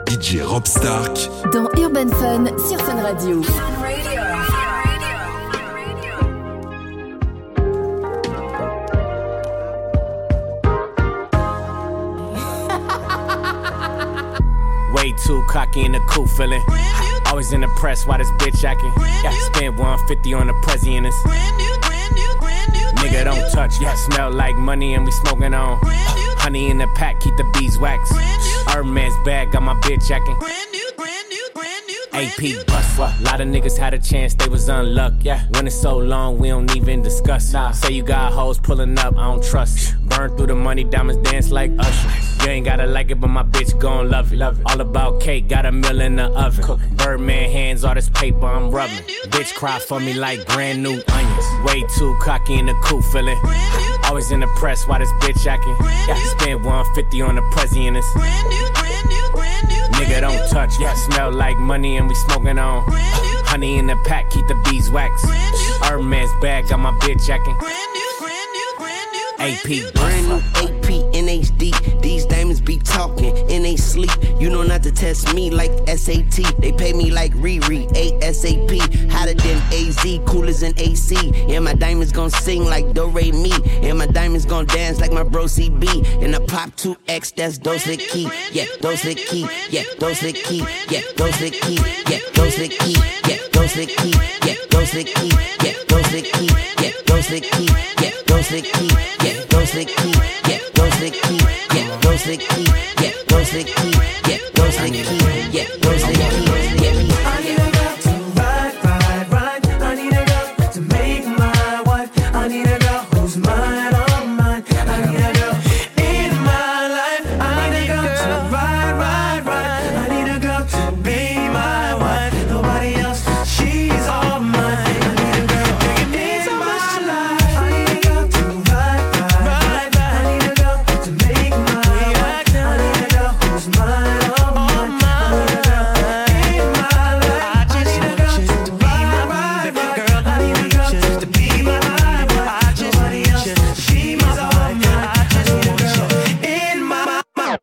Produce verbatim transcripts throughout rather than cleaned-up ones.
D J Rob Stark dans Urban Fun sur Fun Radio. Way too cocky in the cool feeling. Always in the press, why this bitch acting? Yeah, spend one fifty on the Prezi and it's nigga don't touch, yeah, smell like money and we smoking on. Honey in the pack, keep the beeswax. Hermes bag, got my bitch acting. A P bust, what? Lot of niggas had a chance, they was unlucky. Yeah, when it's so long, we don't even discuss. Nah. Say you got hoes pulling up, I don't trust. Burn through the money, diamonds dance like Usher. You ain't gotta like it, but my bitch gon' love it. Love it. All about cake, got a meal in the oven. Cooking. Birdman hands, all this paper I'm rubbing. Bitch cry for me like brand new onions. Way too cocky in the cool feeling. Always in the press, why this bitch acting? Yeah, spend one fifty on the Prezi and it's nigga don't touch, yeah, smell like money and we smoking on. Honey in the pack, keep the beeswax. Hermes bag, got my bitch acting. A P brand new A P in H D. These diamonds be talking in they sleep. You know not to test me like S A T. They pay me like Riri, ASAP. Hotter than A Z, cooler than A C. And my diamonds gon' sing like Do Re Mi. And my diamonds gon' dance like my bro C B. And I pop two X, that's Dos the Key. Yeah, Dos the Key. Yeah, Dos the Key. Yeah, Dos the Key. Yeah, Dos the Key. Yeah, Dos the Key. Yeah, Dos the Key. Yeah, Dos the Key. Yeah, Dos the Key. Yeah, Dos the Key. Yeah, Dos the Key. Yeah, Dos the Key. Yeah, Dos the Key. Yeah, Dos the Key. Yeah, Dos the Key. Yeah, Dos the Key. Yeah, I need a girl to ride, ride, ride. I need a girl to make my wife. I need a girl who's mine, all mine. I need a girl in my life. I need a girl to ride, ride, ride. I need a girl to be my wife. Nobody else, she's all mine. I need a girl in my life. I need a girl to ride, ride, ride. I need a girl to make my wife. I need a girl who's mine, all mine. I need a girl in my life. I need a girl to ride, ride, ride. I need a girl to be my wife. Nobody else, she's all mine. I need a girl in my life.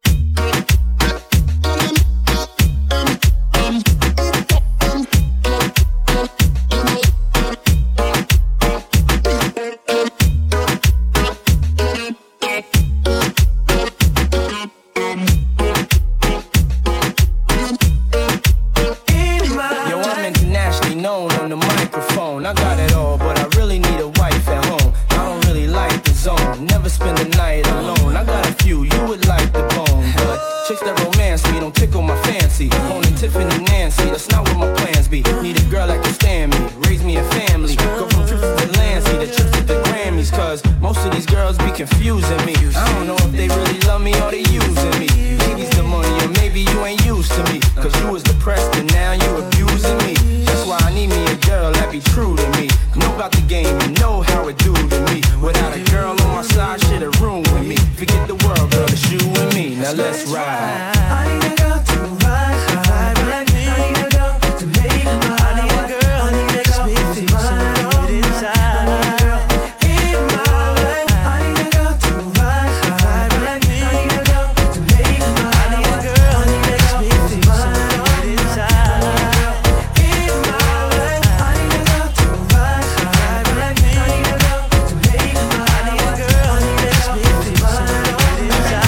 Yo, I'm internationally known on the microphone. I got it all, but I really need a wife at home. I don't really like the zone, never spend the night alone. I got a few, you would like the bone, but chicks that romance me don't tickle my fancy. Owning Tiffany Nancy, that's not what my plans be. Need a girl that can stand me, raise me a family. Go from trips to Lansing to trips to the Grammys, cause most of these girls be confusing me. I don't know if they really love me or they using me. Maybe's the money or maybe you ain't used to me, cause you was depressed and now you abusing me. That's why I need me a girl that be true to me. Know about the game and know how it do to me. Without a girl on my side, shit'll ruin me. Forget the world, girl, it's you and me. Now let's ride. I need a girl to ride, ride, ride. I need a girl to make my wife. I need a girl who's mine, all mine. I need a girl in my life. I need a girl to ride, ride, ride. I need a girl to make my wife. I need a girl who's mine, all mine. I need a girl in my life. I need a girl to ride, ride, ride. I need a girl to make my wife. I need a girl who's mine, all mine.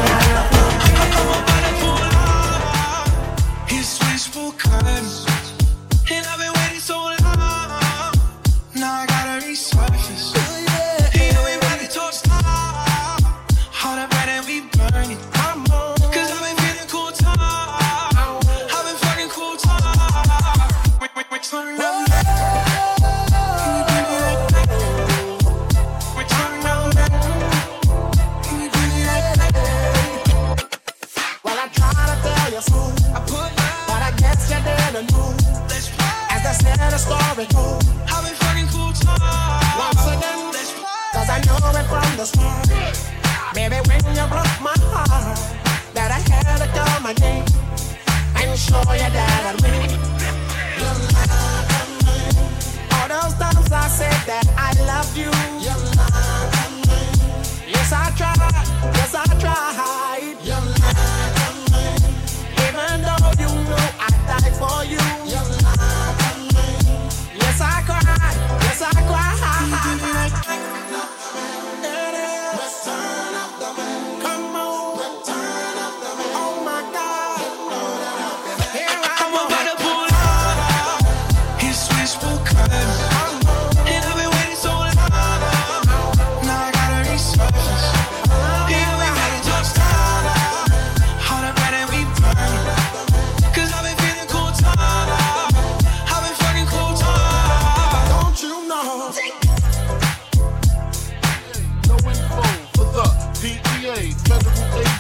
His wishful kindness, and I've been waiting so long. Now I gotta resurface. He know we ready to start. All the bread and we burn it. Cause I've been feeling cool time. I've been fucking cool time. Wait, wait, wait, turn around. Can you give me that back? Wait, turn around. Can you give me that back? Well, I try to tell you smooth, I put but I guess you didn't move. let's play. As the center story goes, I've been fucking cool time. once again, Let's play. cause I know it from the start. Baby, when you broke my heart, that I had to come again and show you that I win. You love me. All those times I said that I loved you. You love me. Yes, I tried. Yes, I tried. You love me. Even though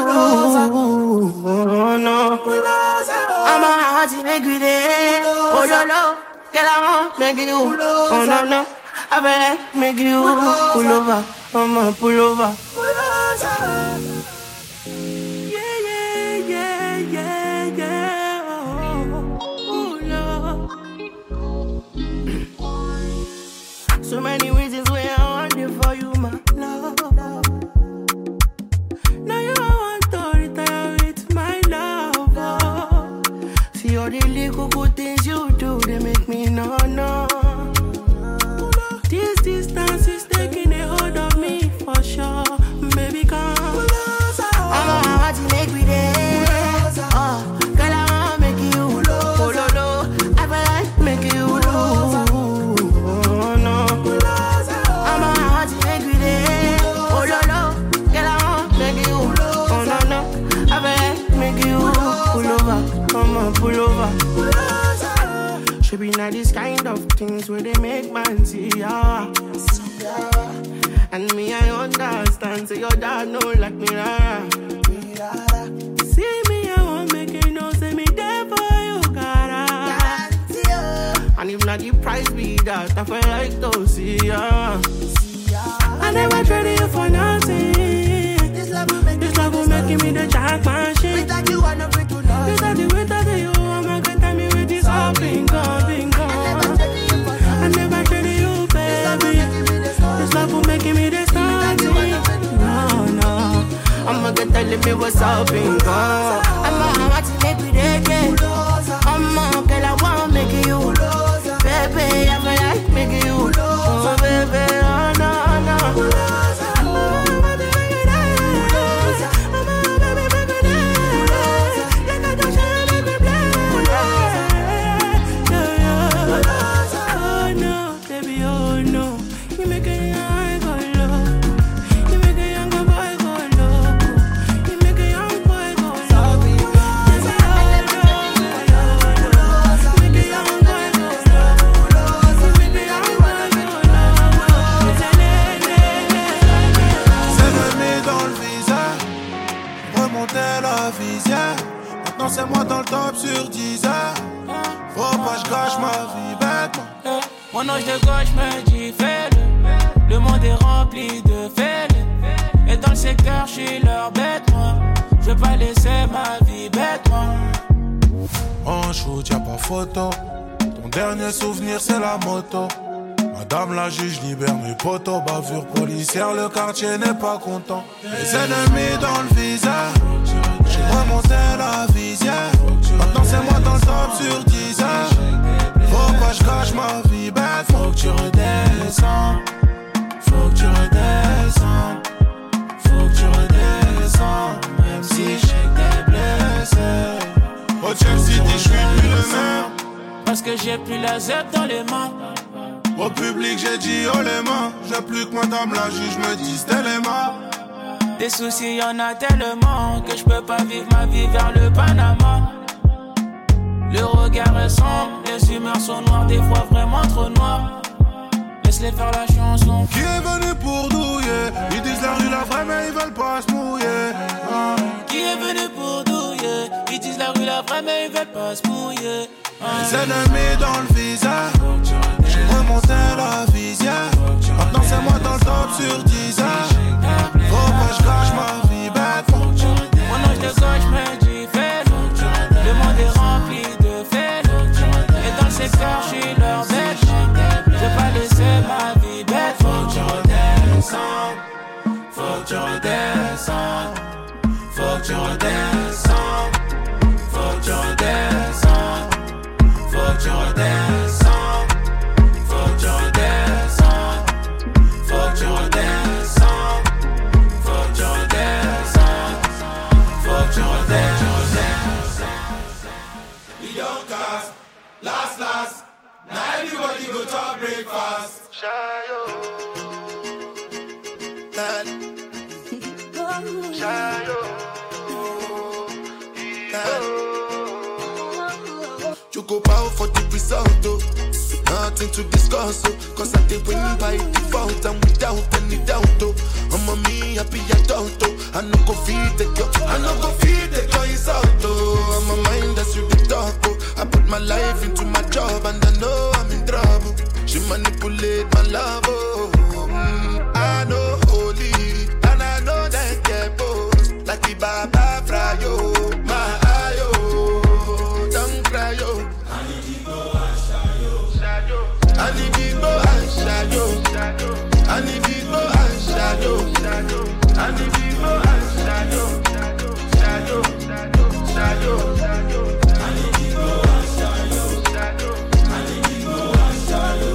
Oh no, I'm a hot make with it. Oh no no, get out, make you. Oh no no, I bet make you pull over, I'm a pull over. Yeah yeah yeah yeah yeah. Oh, oh no. So many reasons why I want it for you, my love. Now you want to retire with my love. Oh. See all the little good things you do, they make me no no. This distance is taking a hold of me for sure. Baby, come. I'm a hard to make with it. Oh, girl, I wanna make you. Oh, no, no. I wanna make you. Oh, no. I'm a hard to make with it. Oh, no, no. Girl, I wanna make you. Oh, no, no. I wanna make you. Pull over. Come on, pull over. Should be not these kind of things where they make man see ya. And me, I understand. So your dad know like me, rara. See me, I won't make you know. Say me there for you, gotta. And if not the price be that, I feel like to see ya. I never traded you for nothing. This love will make, this love will make me the jackpot shit. Without you, I never do nothing. Without you, without you, I'm not gonna tell me with this all being gone, being gone. I never traded you, baby. This love will make me the starting. No, no. I'm not gonna tell me what's up being gone. I'm a hot to make me the game. I'm a girl, I wanna make you. Baby, I feel like making you. Oh, baby, oh, no, no. C'est moi dans le top sur dix heures. Faut pas que je gâche ma vie bêtement. Mon ange de gauche me dit fais-le. Le monde est rempli de fêlés. Et dans le secteur je suis leur bête moi. Je veux pas laisser ma vie bête moi. En shoot y'a pas photo. Ton dernier souvenir c'est la moto. Madame la juge libère mes potos. Bavure policière, le quartier n'est pas content. Les ennemis dans le viseur. J'ai remonté la visière. Maintenant c'est moi dans le top sur dix heures. Faut pas que je gâche ma vie bête. Faut que tu redescends. Faut que tu redescends. Faut que tu redescends. Même si je sais que t'es blessé. Au Chelsea City je suis plus le même. Parce que j'ai plus la zep dans les mains. Au public j'ai dit oh les mains. J'ai plus que madame la juge me dise t'es les mains. Des soucis y'en a tellement que je peux pas vivre ma vie vers le Panama. Le regard est sombre, les humeurs sont noires, des fois vraiment trop noires. Laisse-les faire la chanson. Qui est venu pour douiller? Ils disent la rue la vraie mais ils veulent pas se mouiller. Ah. Qui est venu pour douiller? Ils disent la rue la vraie mais ils veulent pas se mouiller. Ah. Les ennemis dans le viseur. J'ai remonté la visière. Maintenant c'est moi dans le top sur dix heures. Faut pas que je gâche ma vie bête. Mon ange de gauche me dit fais-le. Le monde est rempli de fêlés. Et dans le secteur je suis leur bête. Je veux pas laisser ma vie bête. Faut que tu redescends. Faut que tu redescends. Faut que tu redescends. Faut que tu redescends. Faut que tu redescends. Faut que tu redescends. Faut que tu redescends. Faut que tu redescends. Faut que tu redescends. We don't cast. Last, last. Now everybody go to breakfast. Shayo. Shayo. You go bow for the result, oh. Nothing to discuss, oh. Cause I did win by default and without any doubt, oh. I'm Mama me happy adult, oh. I no go feed the girl, I no go feed the girl insult, oh. I'm a mind that's you the talk, oh. I put my life into my job and I know I'm in trouble. She manipulate my love, oh. Mm, I know holy, and I know that get both. Like the Baba Frayo, my ayo, don't cry, yo. I need to go and shayo, I need to go and shayo, I need to go and shayo, I need to go and shayo, shayo, shayo, shayo. I need to go and shayo, I need to go and shayo,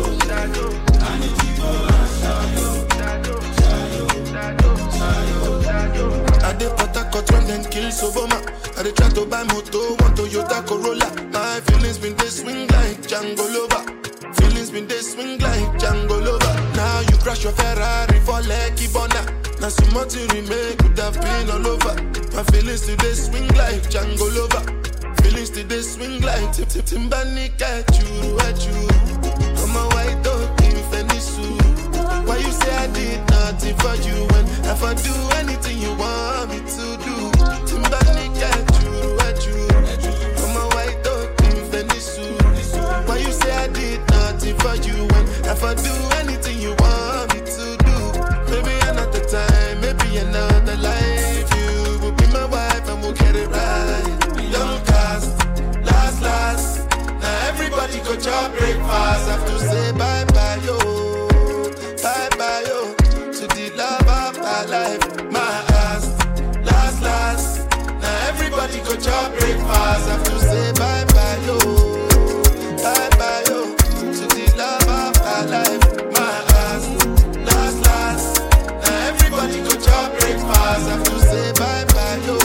I need to go and shayo, shayo, shayo, shayo. I dey Port Harcourt when them kill Soboma. I dey try to buy moto, one Toyota Corolla. My feelings been they swing like Django Lover. Feelings been they swing like Django Lover. Now you crash your Ferrari for Lucky Bona. Now some more to remake could have been all over. My feelings today swing like Django Lover. Feelings today swing like Tip Tip Timbani at you, at you. I'm a white dog in Fenisu. Why you say I did nothing for you when if I do anything you want me to do? Timbani at you, at you. I'm a white dog in Fenisu. Why you say I did nothing for you when if I do anything you want me to do? Maybe another time, maybe another life. You will be my wife and we'll get it right. Young cast, last, last. Now everybody go to breakfast. Have to say bye bye, yo. Bye bye, yo. To the love of my life. My ass, last, last. Now everybody go to breakfast. Have to say bye bye, yo. Bye bye, yo. To the love of my life. My ass, last, last. Now everybody go to breakfast. Have to say bye bye, yo.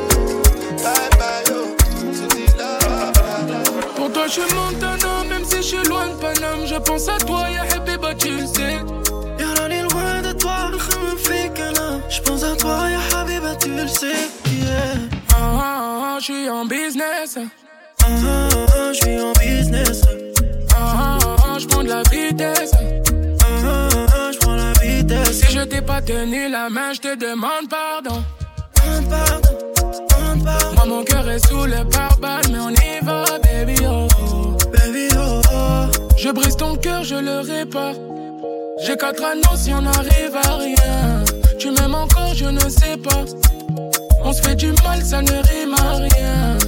Bye bye, yo. To the love of my life. Pour toi, je suis Montana, même si je suis loin de Paname. Je pense à toi, ya Habiba, tu le sais. Y'a l'air loin de toi, me fait qu'un je pense à toi, ya Habiba, tu le sais. Yeah. Ah, ah, ah, je suis en business. Ah, ah, ah, je suis en business. Ah, ah, ah, je prends de la vitesse. Ah, ah, ah, je prends la vitesse. Si je t'ai pas tenu la main, je te demande pardon. Demande pardon, demande pardon. Moi, mon cœur est sous le pare-balles, mais on y va, baby, oh, oh. Baby, oh, oh. Je brise ton cœur, je le répare. J'ai quatre anneaux si on n'arrive à rien. Tu m'aimes encore, je ne sais pas. On se fait du mal, ça ne rime à rien.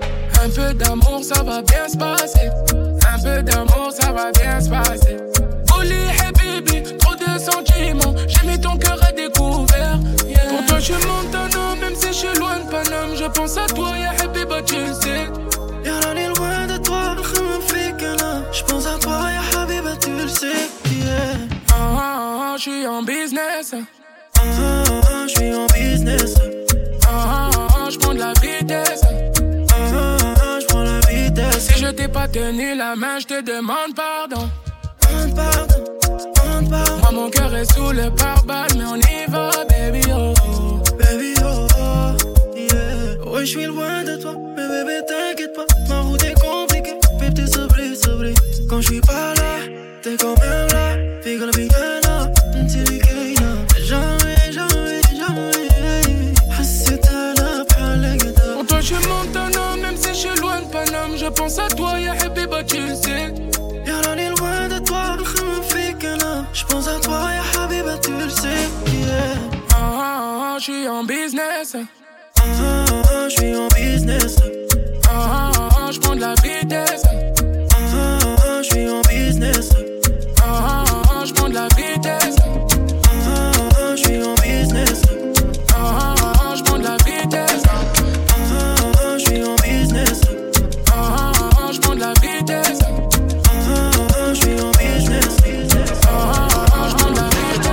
Un peu d'amour, ça va bien se passer. Un peu d'amour, ça va bien se passer. Oli, hey baby, trop de sentiments. J'ai mis ton cœur à découvert. Yeah. Pour toi, je suis Montana, même si je suis loin de Paname. Je pense à toi, ya Habiba, tu le sais. Y'a l'air loin de toi, me fait qu'un je pense à toi, ya Habiba, tu le sais. Yeah. Ah, ah, ah, je suis en business. Ah, ah, ah, je suis en business. Ah, ah, ah, je prends de la vitesse. Ah, ah, ah, je prends la vitesse. Si je t'ai pas tenu la main, je te demande pardon. Demande pardon, demande pardon. Moi, mon cœur est sous le pare-balles, mais on y va, baby, oh, oh. Baby, oh, oh, yeah. Ouais, je suis loin de toi, mais bébé, t'inquiète pas. Ma route est compliquée, mais t'es sobre, sobre. Quand je suis pas là, t'es quand même là. Figure la vie, là, t'es les gars, jamais, jamais, jamais. Hassita la palagada. Pour toi, je suis Montana, même si je suis loin de Paname. Je pense à toi, ya Habiba, tu le sais. Y'a l'air loin de toi, me fait qu'un je pense à toi, ya Habiba, tu le sais. Yeah. Ah, ah, ah, je suis en business. Ah, ah, ah, je suis en business. Ah, ah, ah, je prends de la vitesse. Ah, ah, ah, je suis en business. Ah, ah, ah, je prends de la vitesse. Ah, ah, ah, je suis en business. Ah, ah, ah, je prends de la vitesse. Ah, ah, ah, je suis en business. Ah, ah, ah, je prends de la vitesse. Ah, ah, ah, je suis en business. Ah, ah, ah, je prends de la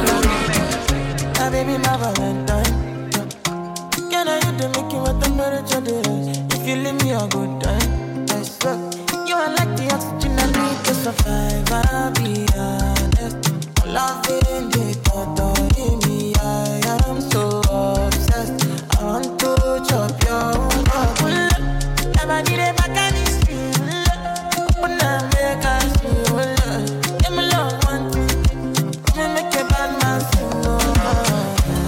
vitesse. Ah, baby, my Valentine. Can I hit the Mickey with the temperature days? If you leave me a good time, I swear. You are like the oxygen I need to survive. I'll be honest. Loving the thought of me, I am so obsessed. I want to chop your heart. Never did it back and it's real. When I make us feel. Give me love one thing. Let me make a bad man feel.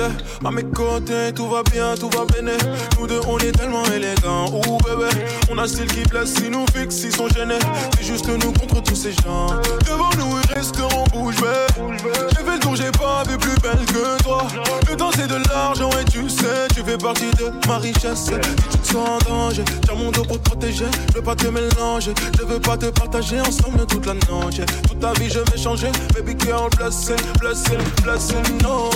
À mes côtés, tout va bien, tout va bien. Nous deux, on est tellement élégants. Ouh bébé, on a un style qui blesse, si nous fixe, ils sont gênés. C'est juste nous contre tous ces gens. Devant nous, ils resteront bouche bée. J'ai fait le tour, j'ai pas vu plus belle que toi. Le temps c'est de l'argent et tu sais, tu fais partie de ma richesse. Si tu te sens en danger, tiens mon dos pour te protéger. Je veux pas te mélanger, je veux pas te partager ensemble toute la noche. Toute ta vie je vais changer, baby girl, blessé, blessé, blessé, non.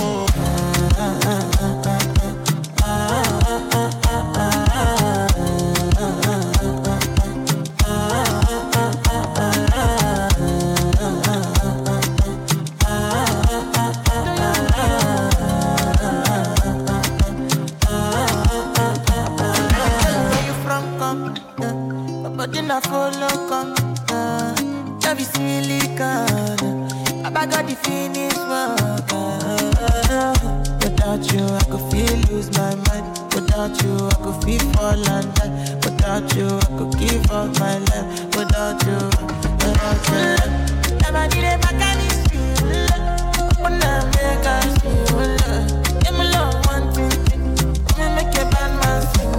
I follow come, uh, love is silicon. I got the finish work. Uh, without you, I could feel lose my mind. Without you, I could feel fall and die. Without you, I could give up my life. Without you, without you, never need a mechanic. When I make us feel, give me love one thing. Let me make a bad man sing.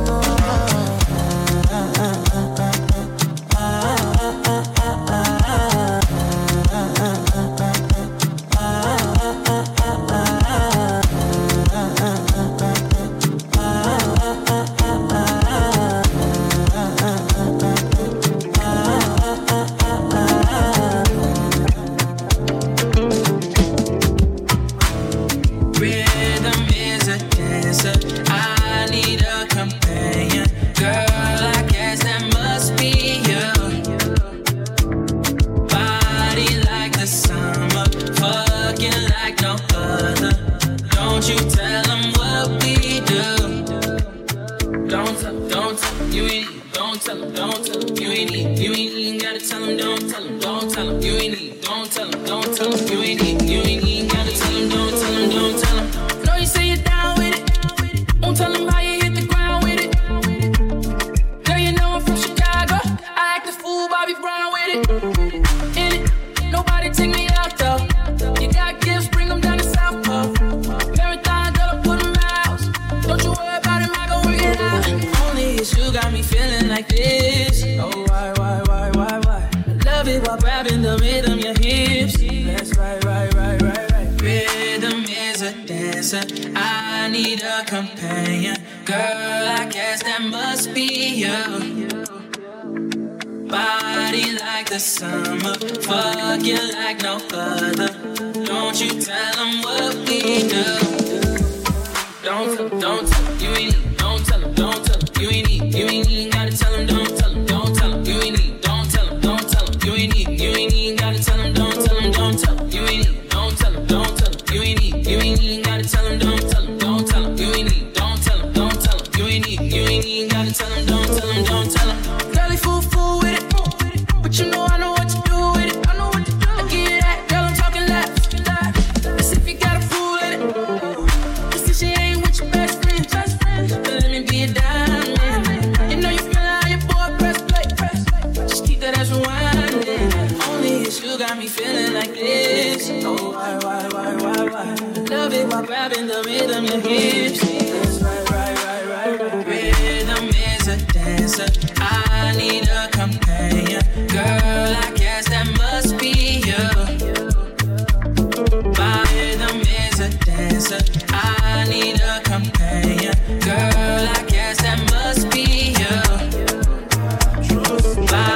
I need a companion. Girl, I guess that must be you. Body like the summer, fuck you like no other. Don't you tell them what we do. Don't tell them, don't tell them, you ain't need. Don't tell them, don't tell them, you ain't need. You ain't even gotta tell them, don't tell them, don't tell them, you ain't need. Don't tell them, don't tell them, you ain't need. You ain't even gotta tell them, don't tell them, don't tell them, you ain't need. Don't tell them, don't tell them, you ain't need. You ain't even gotta tell them, don't tell them, don't tell them, you ain't need. Don't tell them, don't tell them, you ain't need. You ain't even gotta tell them, don't tell them, don't tell them. Girl, they fool fool with it, but you know I know what to do with it. I know what to do. I give you that, girl, I'm talking left. Let's see if you got a fool with it. Just if she ain't with your best friend, best friend. But let me be a diamond. You know you feel how your boy press play, press play. Just keep that ass rewinding. Only it's you got me feeling like this. Oh, why, why, why, why, why? Love it while grabbing the rhythm, your hips. That's right, right, right, right, right. Rhythm is a dancer. I need a companion. Girl, I guess that must be you. My rhythm is a dancer. I need a companion. Girl, I guess that must be you. My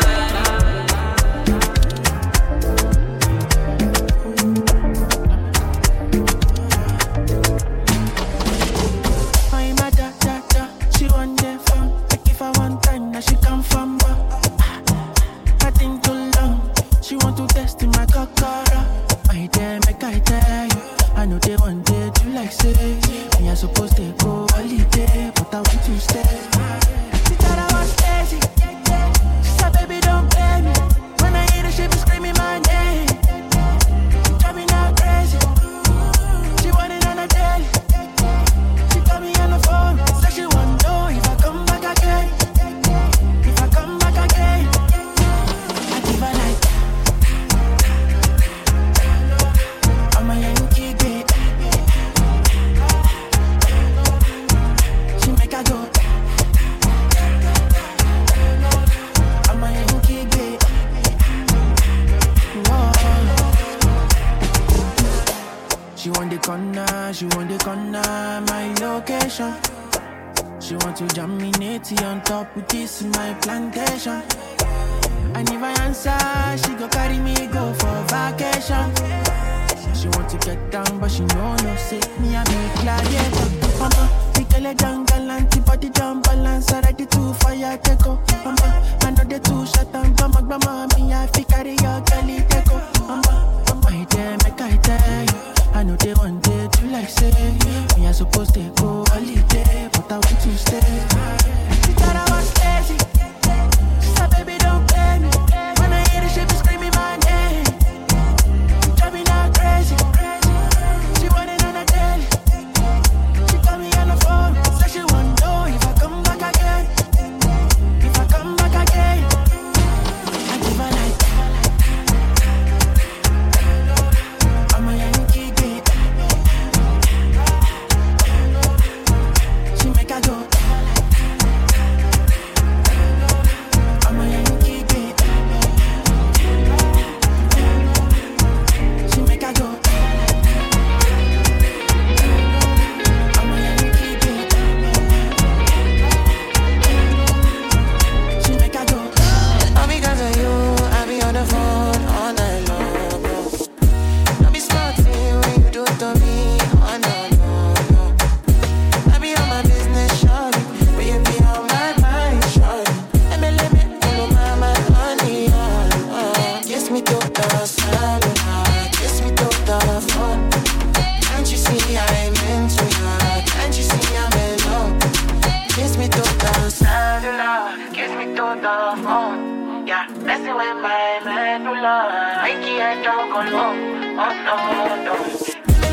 she come from back. I think too long. She want to test in my cockara. I dare make I tell you. I know they want it, you like say. Me I supposed to go holiday, but I want to stay. She thought I was crazy. She said, baby, don't blame me. When I hear the she be screaming my name. Drive me now crazy. She want it on a daily. She call me on the phone. Said she want to know if I come back again. Come back again. I give her like I'm a Yankee, babe. She want the corner, she want the corner, my location. She want to jam me natty on top with this in my plantation. And if I answer, she go carry me go for vacation. She want to get down, but she know no say me I be gladiator. Mama, we tell her jungle and body jump balance. I ready to fire take go. Mama, I know the two shot and grandma, grandma, me I fi carry your girlie take go. Mama, mama, I tell me I tell you. I know they want day to like say me I supposed to go holiday, but I want to stay. She thought I was lazy. She said, baby, don't play me. When I hear the shit, be screaming my name. She drive me not crazy. She want it on a daily. She call me on the phone. Say she want to know if I come back again. If I come back again, I give her like I'm a Yankee kid. She make her go. I'm a Yankee kid. She make her go. I'm a Yankee kid. She make her go. All because of you, I be on the phone all night long, bro. Don't be smarting when you do it to me. Oh no, no, no. I be on my business, shawty, but you be on my mind, shawty. Let me, let me, all my, my honey, oh, oh. Kiss me to the cellular, kiss me to the phone. Can't you see I'm into you? Can't you see I'm in love? Kiss me to the cellular, kiss me to the phone. Yeah, messing with my medulla. I can't talk alone. Oh no, no.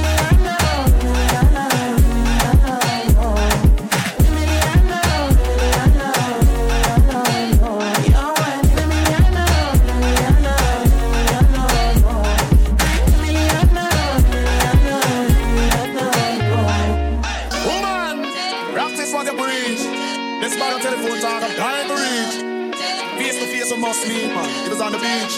Woman, practice what you preach. This man on telephone talk, I'm dying to reach. Face to face, you must meet, man. It was on the beach.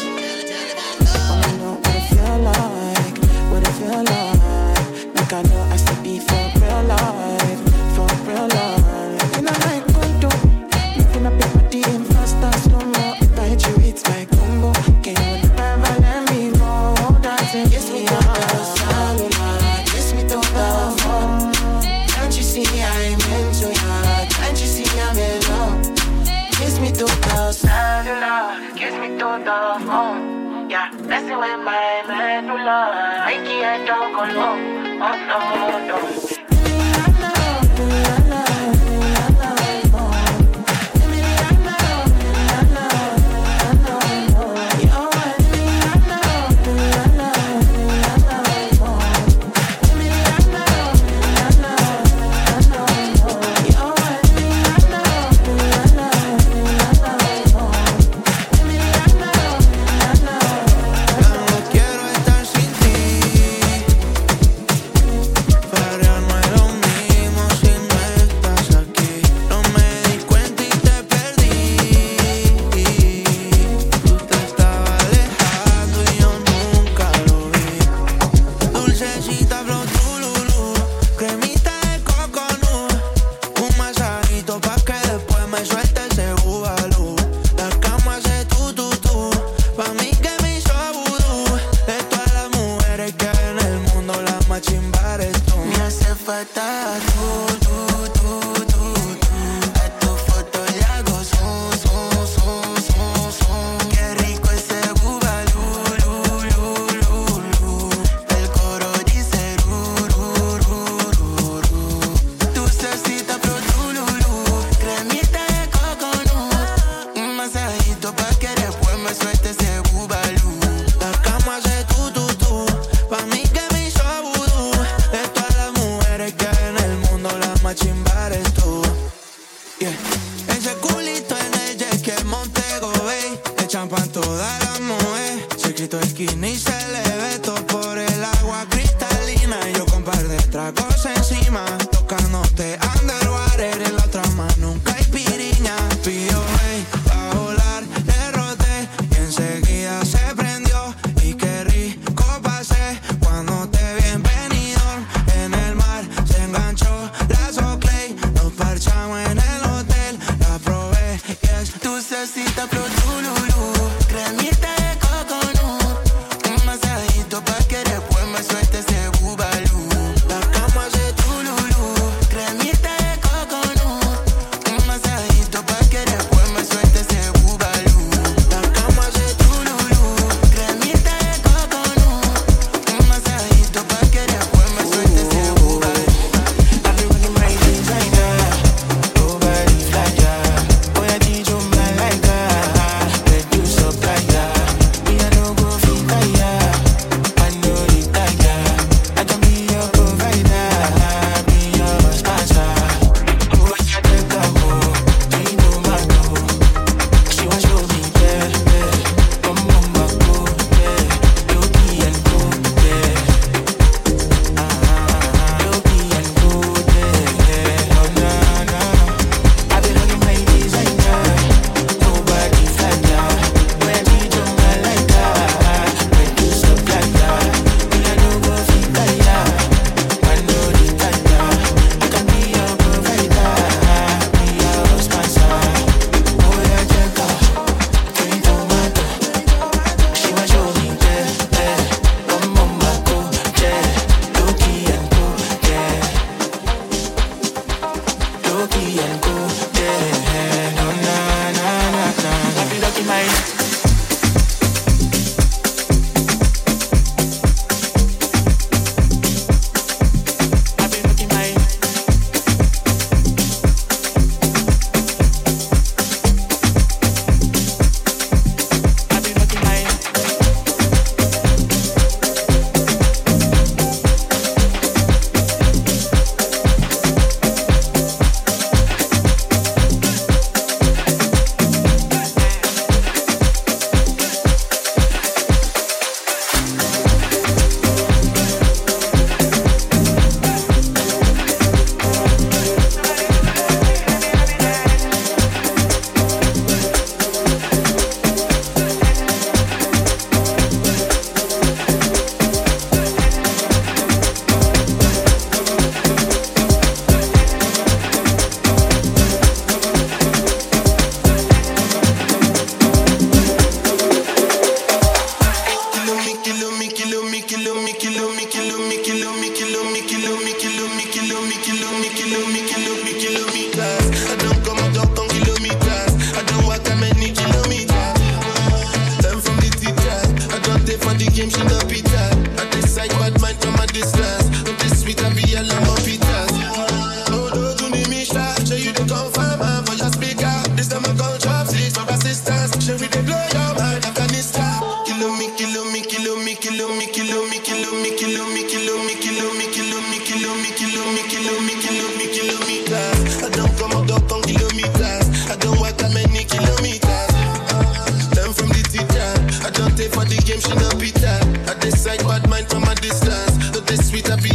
I know what it feel like, what it feel like. Like I know I still be for real life, for real life. And I like Kondo, moving up your body in faster, slow mo. Bite you, it's my combo. Can you never let me go? Dancing, kiss me to the cellular, kiss me to the phone. Can't you see I'm into ya? Can't you see I'm in love? Kiss me to the cellular, kiss me to the phone. Yeah, messing with my medulla. I can't talk alone. Oh no, no. Enseguida se prendió y qué rico pasé cuando te vi en venir.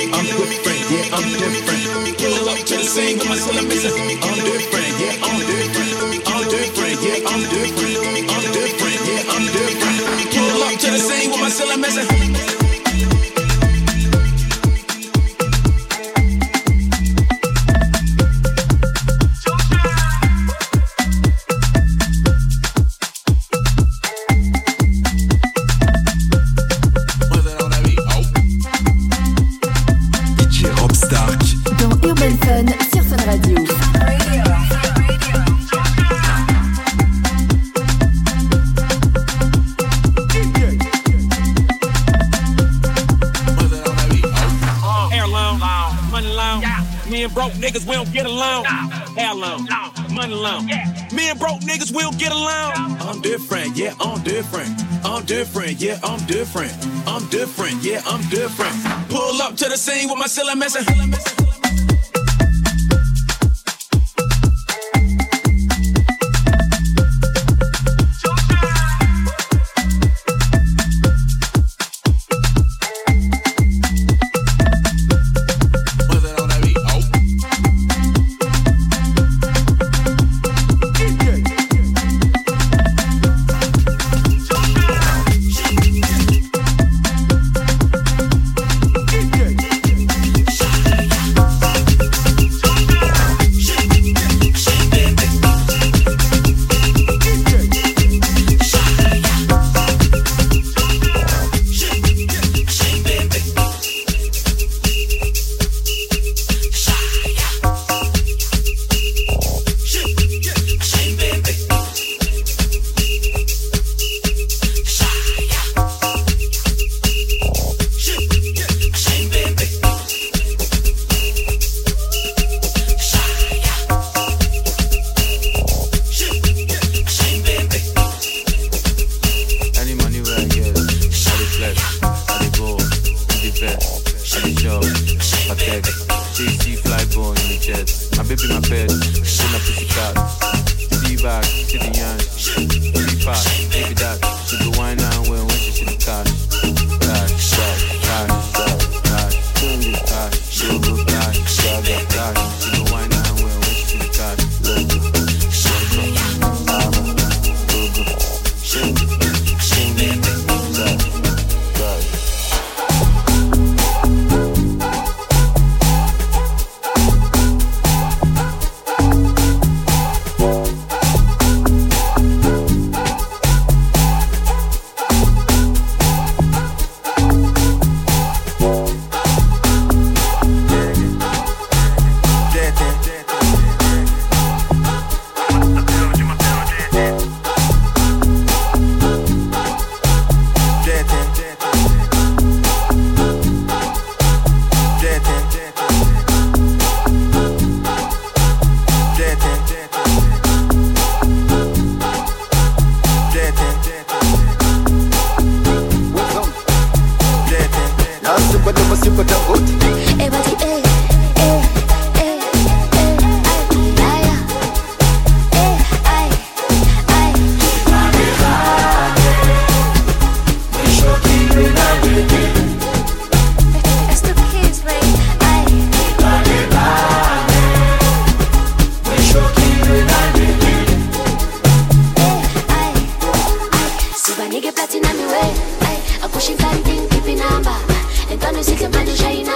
I'm different, yeah, I'm different. Pull up to the scene with my cellar missing. I'm different, yeah, I'm different. I'm different, yeah, I'm different. I'm different, yeah, I'm different. Pull up to the scene with my cellar missing. Niggas, we don't get along. How long? Money long. Me and broke niggas, we don't get along. I'm different, yeah, I'm different. I'm different, yeah, I'm different. I'm different, yeah, I'm different. Pull up to the scene with my cellar messing.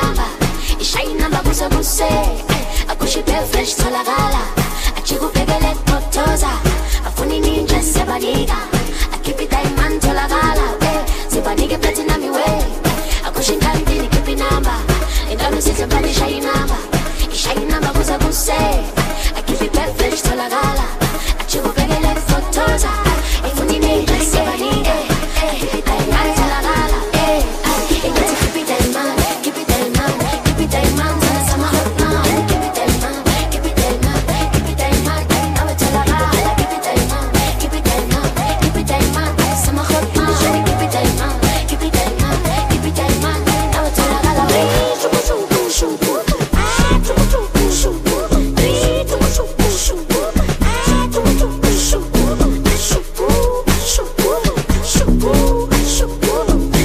Fresh to la gala, a chico pegale fotoza afuni ninja sebadiga akipita imanto la gala eh sibanike platinum way akushinda ndini kipi namba indalo sisabali shay namba ishay namba kuza kuse akipi perfect to la gala achigo pegele fotoza afuni ninja sebadiga akipita imanto la gala eh ingati kipita iman kipita iman kipita iman sana sama hot now kipita iman kipita iman kipita iman awe to la gala kipita iman kipita iman kipita iman sama hot now kipita iman kipita iman kipita iman awe to la gala shubu shubu shubu ah shubu shubu shubu shubu shubu shubu ah shubu shubu shubu shubu shubu shubu shubu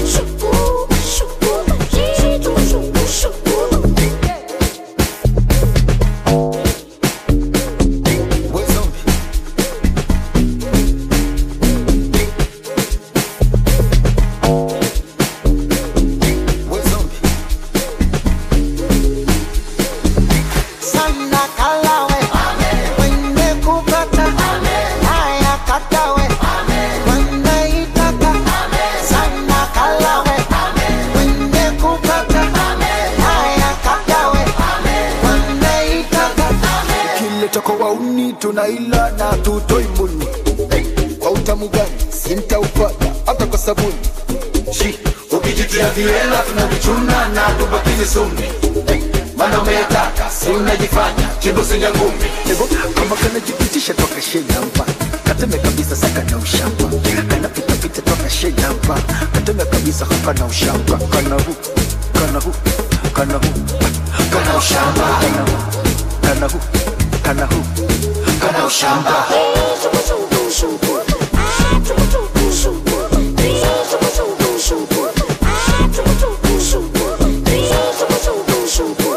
Sana kalawe wende kupata haya katawe wende itaka sana kalawe wende kupata haya katawe wende itaka kile chako wauni tunaila na tutoi muni kwa utamu gani sintaupata hata kwa sabuni shi ukijitia viela tunavichuna na tubakizi sumi mana umetaka si unajifanya chimbo sinja ngumi kama kana jipitisha toka shenamba kateme kabisa saka na ushamba kana pita pita toka shenamba kateme kabisa haka na ushamba kana hu kana hu kana hu kana ushamba kana hu kana hu kana hu kana ushamba shubu shubu shubu ah shubu shubu shubu shubu shubu shubu ah shubu shubu shubu shubu shubu shubu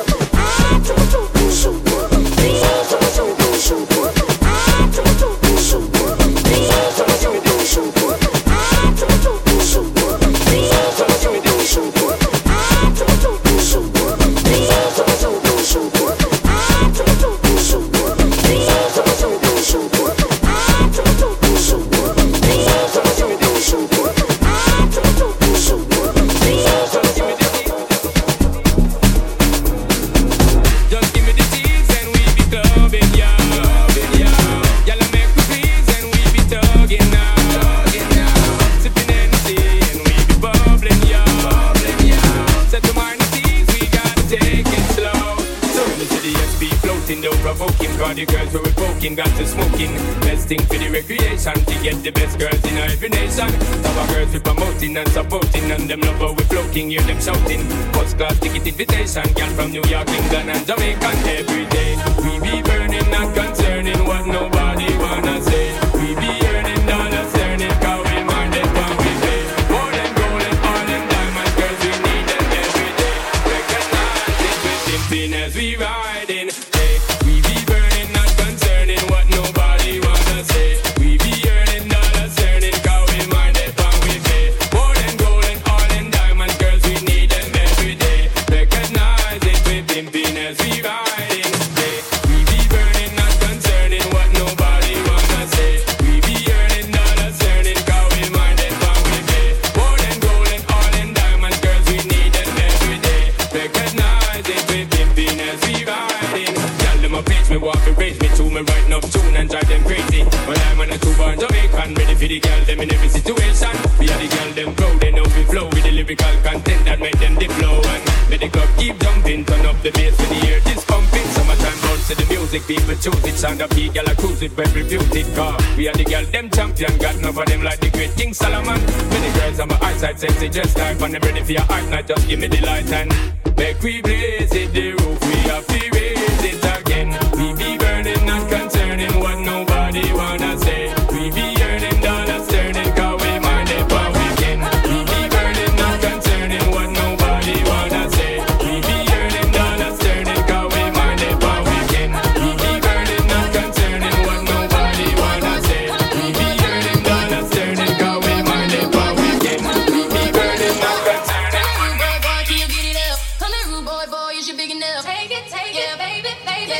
The girls were poking, got to smoking. Best thing for the recreation to get the best girls in every nation. Our girls we promoting and supporting, and them love how we floating, hear them shouting. First class ticket invitation, girl from New York, England and Jamaica. Every day we be burning, not concerning what nobody wanna say. We be earning dollars, earning cow in Monday, when we pay. More than gold and all them diamonds, girls we need them every day. Recognize it with pimping as we riding. Hey, we be burning, not concerning what nobody wanna say. We be earning dollars, earning cow in Monday, when we pay. More than gold and all them diamonds, girls we need them every day. Recognize it with pimping as we riding. Hey, we be burning, not concerning what nobody wanna say. We be earning dollars, earning cow in Monday, when we pay. More than gold and all them diamonds, girls we need them every day. Recognize it with pimping as we riding. Tell them a pitch me, walk and raise me to me, writing up tune and drive them crazy. When I'm on a two-born Jamaican, ready for the girl them in every situation. We are the girl them proud, they know we flow with the lyrical content that make them dip flow. And make the club keep jumping, turn up the bass for the ear, this pumping. Summertime bounce to the music, people choose it. Sound of the girl I cruise it, well reputed car. We are the girl them champion, got enough of them like the great King Solomon. Many girls on my eyesight sexy, just like when I'm ready for your heart night, just give me the light and make we blaze it, the roof we have to raise it again. We be burning, not concerning what nobody wanna say. We be earning dollars, turning cause we mind it for weekend. We be burning, not concerning what nobody wanna say. We be earning dollars, turning cause we mind it for weekend. We be burning, not concerning what nobody wanna say. We be earning dollars, turning cause we mind it for weekend. We be burning, not concerning what nobody. Boy, can you get it up? Come here, rude boy, boy, is you big enough? Take it, take it, baby, baby.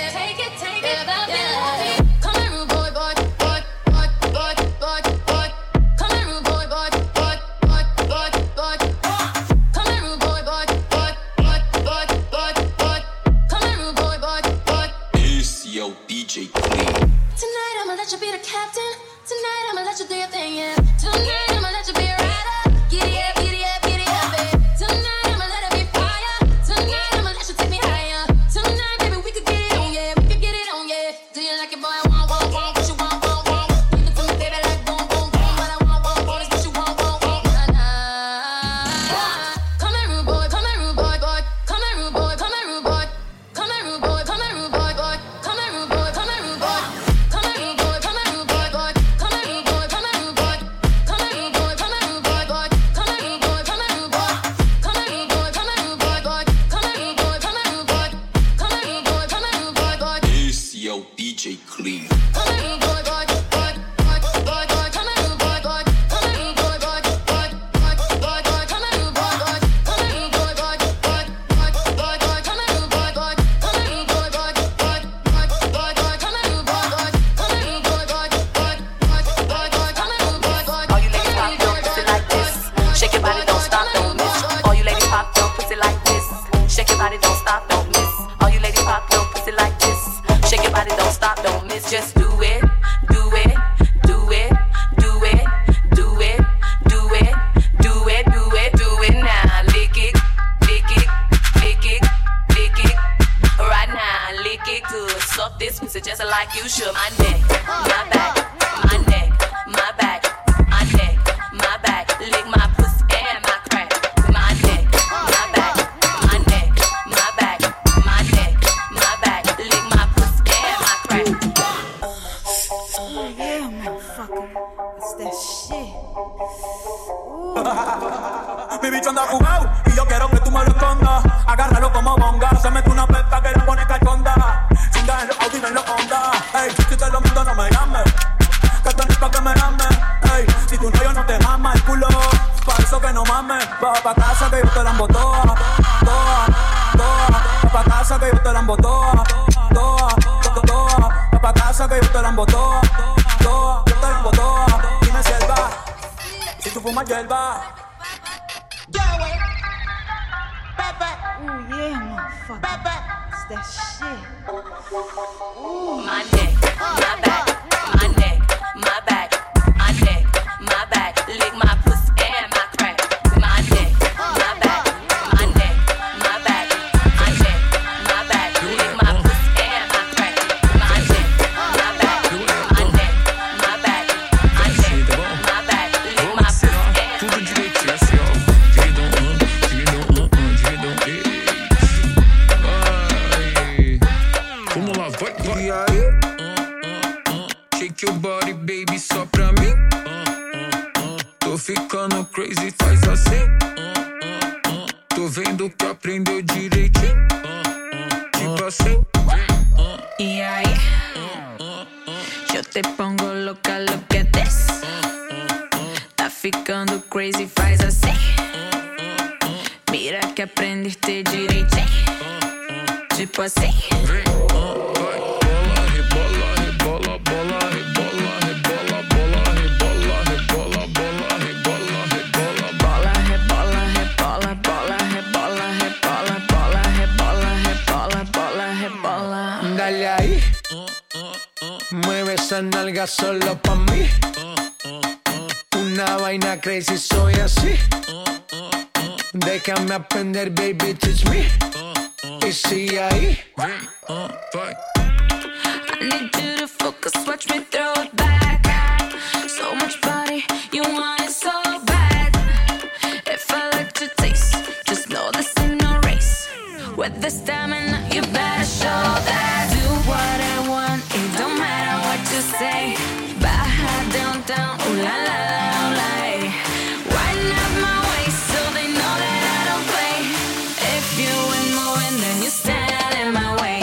you be the captain. Tonight I'ma let you do your thing, yeah. Tonight I'ma let you be a rider. Giddy up, giddy up, giddy up, babe. Tonight I'ma let it be fire. Tonight I'ma let you take me higher. Tonight, baby, we could get it on, yeah. We could get it on, yeah. Do you like it, boy? I want, want, want. What you want, want, want. Give it to me, baby, like boom, boom, boom. What I want, want, want is what you want, want, want. Nah, nah. Come here, rude boy. Come here, rude boy, boy. Come here, rude boy. Come here, rude boy. Come here, rude boy. Come here, rude boy, boy. Come here, rude boy. Come here, rude boy. Come here, rude boy. Come here, rude boy, boy. Come here, rude boy. Come here, rude boy. Come here, rude boy. Come here, rude boy, boy. Come here, rude boy. Come here, rude boy. Come here, rude boy. Come here, rude boy, boy. Come here, rude boy. Come here, rude boy. Come here, rude boy. Come here, rude boy, boy. It's your D J Clean. Come here, rude boy, boy, boy, boy, boy, boy. Come here, rude boy, boy. Come here, rude boy, boy, boy, boy, boy, boy. Come here, rude boy, boy. Come here, rude boy, boy, boy, boy, boy, boy. Come here, rude boy, boy. Come here, rude boy, boy, boy, boy, boy, boy. Come here, rude boy, boy. Come here, rude boy, boy, boy, boy, boy. Come here, rude boy, boy. All you ladies pop your pussy like this. Shake your body, don't stop, don't miss. All you ladies pop your pussy like this. Shake your body, don't stop, don't miss. All you ladies pop your pussy like this. Shake your body, don't stop, don't miss. Just do it, do it, do it, do it, do it, do it, do it, do it, do it now. Lick it, lick it, lick it, lick it. Right now, lick it good. Suck this pussy just like you should. My neck, my back, my neck, my back, my neck, my back. Lick my pussy and my crack. My neck, my back, my neck, my back, my neck, my back. Lick my pussy and my crack. Oh yeah, motherfucker. That's that shit. Mi bicho anda jugado y yo quiero que tú me lo escondas. Agárralo como bonga, se mete una pesta que la pone cachonda. Chinga en los Audi, en los Honda. Ey, si te lo mundo no me llames, que tenés pa' que me llames. Ey, si tu novio no te mama el culo, pa' eso que no mames. Baja pa' casa que yo te la embotoa, toa, toa. Baja pa' casa que yo te la embotoa, toa, toa, toa. Baja pa' casa que yo te la embotoa, toa, yo te la embotoa. Dime si él va, si tú fumas hierba. Ooh yeah, motherfucker. That's that shit. Ooh. My neck, my back, my neck, my back, my neck, my back. Lick my pussy and my crack. My neck, my back, my neck, my back, my neck, my back. Lick my pussy and my crack. My neck, my back, my neck, my back, my neck, my back. Lick my pussy and Tudo direitinho assim, ó. Dividam um, dividam um, um, dividam três. Vai. Vamos lá, vai, vai. E aí? Shake your body, baby, só pra mim. Tô ficando crazy, faz assim. Tô vendo que aprendeu direitinho. Tipo assim. Y ahí, yo te pongo loca, look at this. Tá ficando crazy, faz assim. Mira que aprendiste direitinho. Tipo assim. Rebola, rebola, bola, rebola, rebola, bola, rebola, rebola, bola, rebola, rebola, bola, rebola, rebola, bola, rebola, rebola, bola, rebola, rebola, bola, rebola. Dale ahí, mueve esa nalga solo pa' mí. Una vaina crazy, soy así. Déjame aprender, baby, teach me. Y sigue ahí. I need you to focus, watch me throw it back. So much body, you want it so bad. If I let you taste, just know this ain't no race. With the stamina, you better show that. Do what I want, it don't matter what you say. Baja downtown, ooh la la la, ooh la eh. Wind up my waist so they know that I don't play. If you ain't moving, then you stand in my way.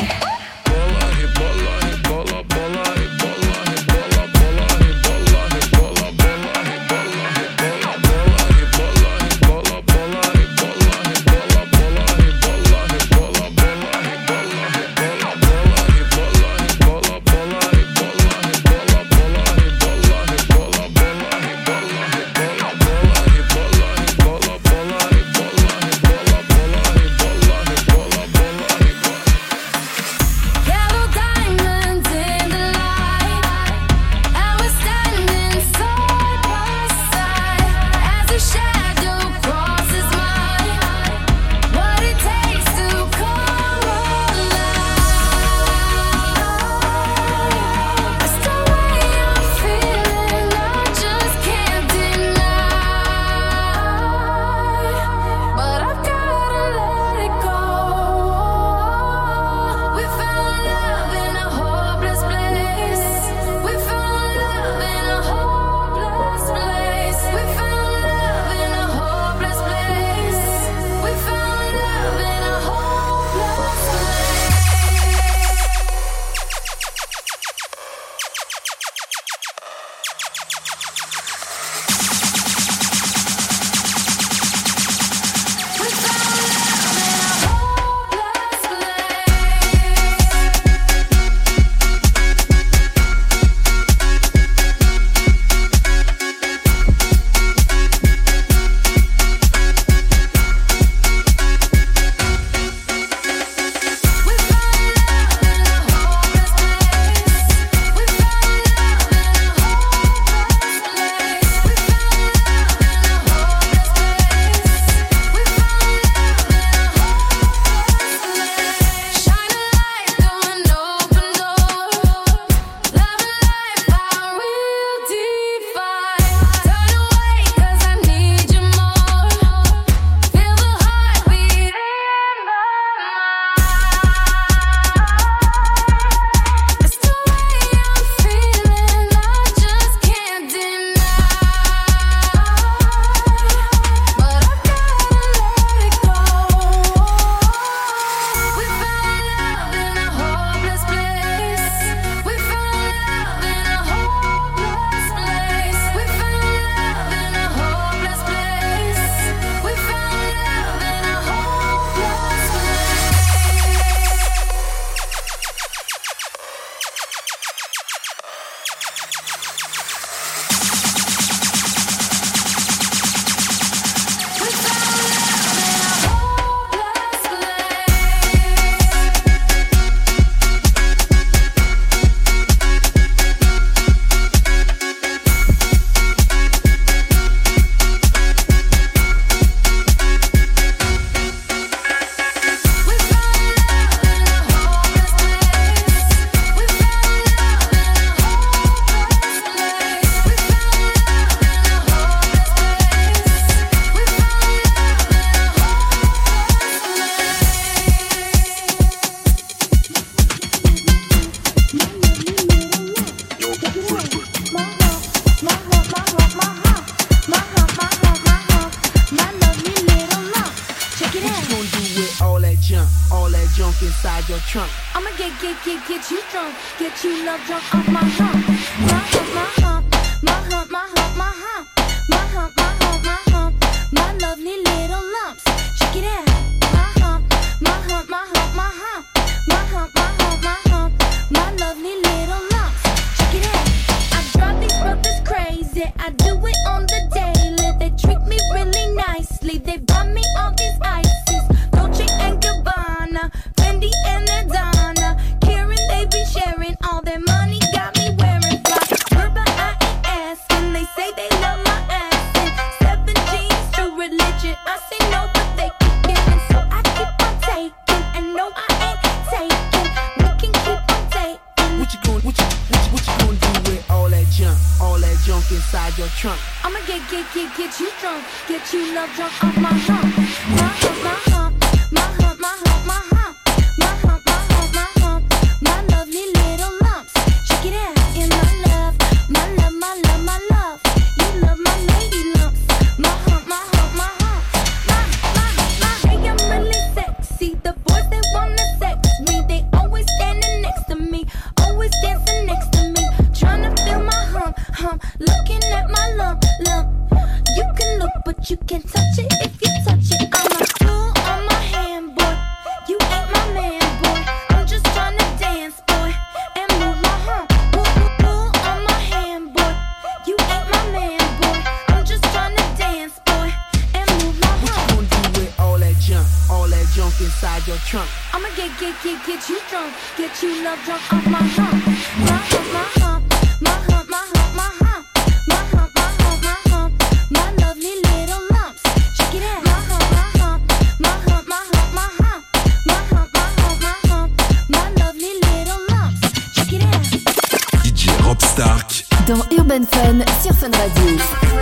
your trunk. I'ma get, get, get, get you drunk, get you love drunk off my hump. My hump, my hump, my hump, my hump, my hump, my hump, my hump, my hump, my lovely little lumps. Check it out. My hump, my hump, my hump, my hump, my hump, my hump, my hump, my lovely little lumps. Check it out. I drive these brothers crazy. I do it on the daily. They treat me really nicely. They buy me all these ices, Dolce and Gabbana, Fendi and Adana. Karen, they be sharing all their money. Got me wearing fly. Herba, I ain't asking. They say they love my ass. And seven jeans, true religion. I say no, but they keep giving, so I keep on taking. And no, I ain't taking. We can keep on taking. What you gon' what you what you, what you gonna do with all that junk, all that junk inside your trunk? I'ma get get get get you drunk, get you love drunk off my hump, my hump, my hump, my hump, my hump, my hump, my hump, my hump, my hump, my lovely little lumps. Check it out, in my love, my love, my love, my love. You love my lady lumps, my hump, my hump, my hump, my my my. Hey, I'm really sexy. The boys they wanna sex me, they always standing next to me, always dancing next to me, tryna feel my hump, hump, looking at my lump, lump. You can look, but you can't touch it if you touch it. I'm a tool on my hand, boy. You ain't my man, boy. I'm just tryna dance, boy, and move my hump. Tool, tool on my hand, boy. You ain't my man, boy. I'm just tryna dance, boy, and move my hump. What you gonna do with all that junk, all that junk inside your trunk? I'ma get, get, get, get you drunk, get you love drunk off my hump, my hump, my hump, my hump, my hump, my hump, my hump, my hump, my hump, my lovely little lumps. Check it out. My hump, my hump, my hump, my hump, my hump, my hump, my hump, my hump, my lovely little lumps. Check it out. D J Rob Stark dans Urban Fun sur Fun Radio.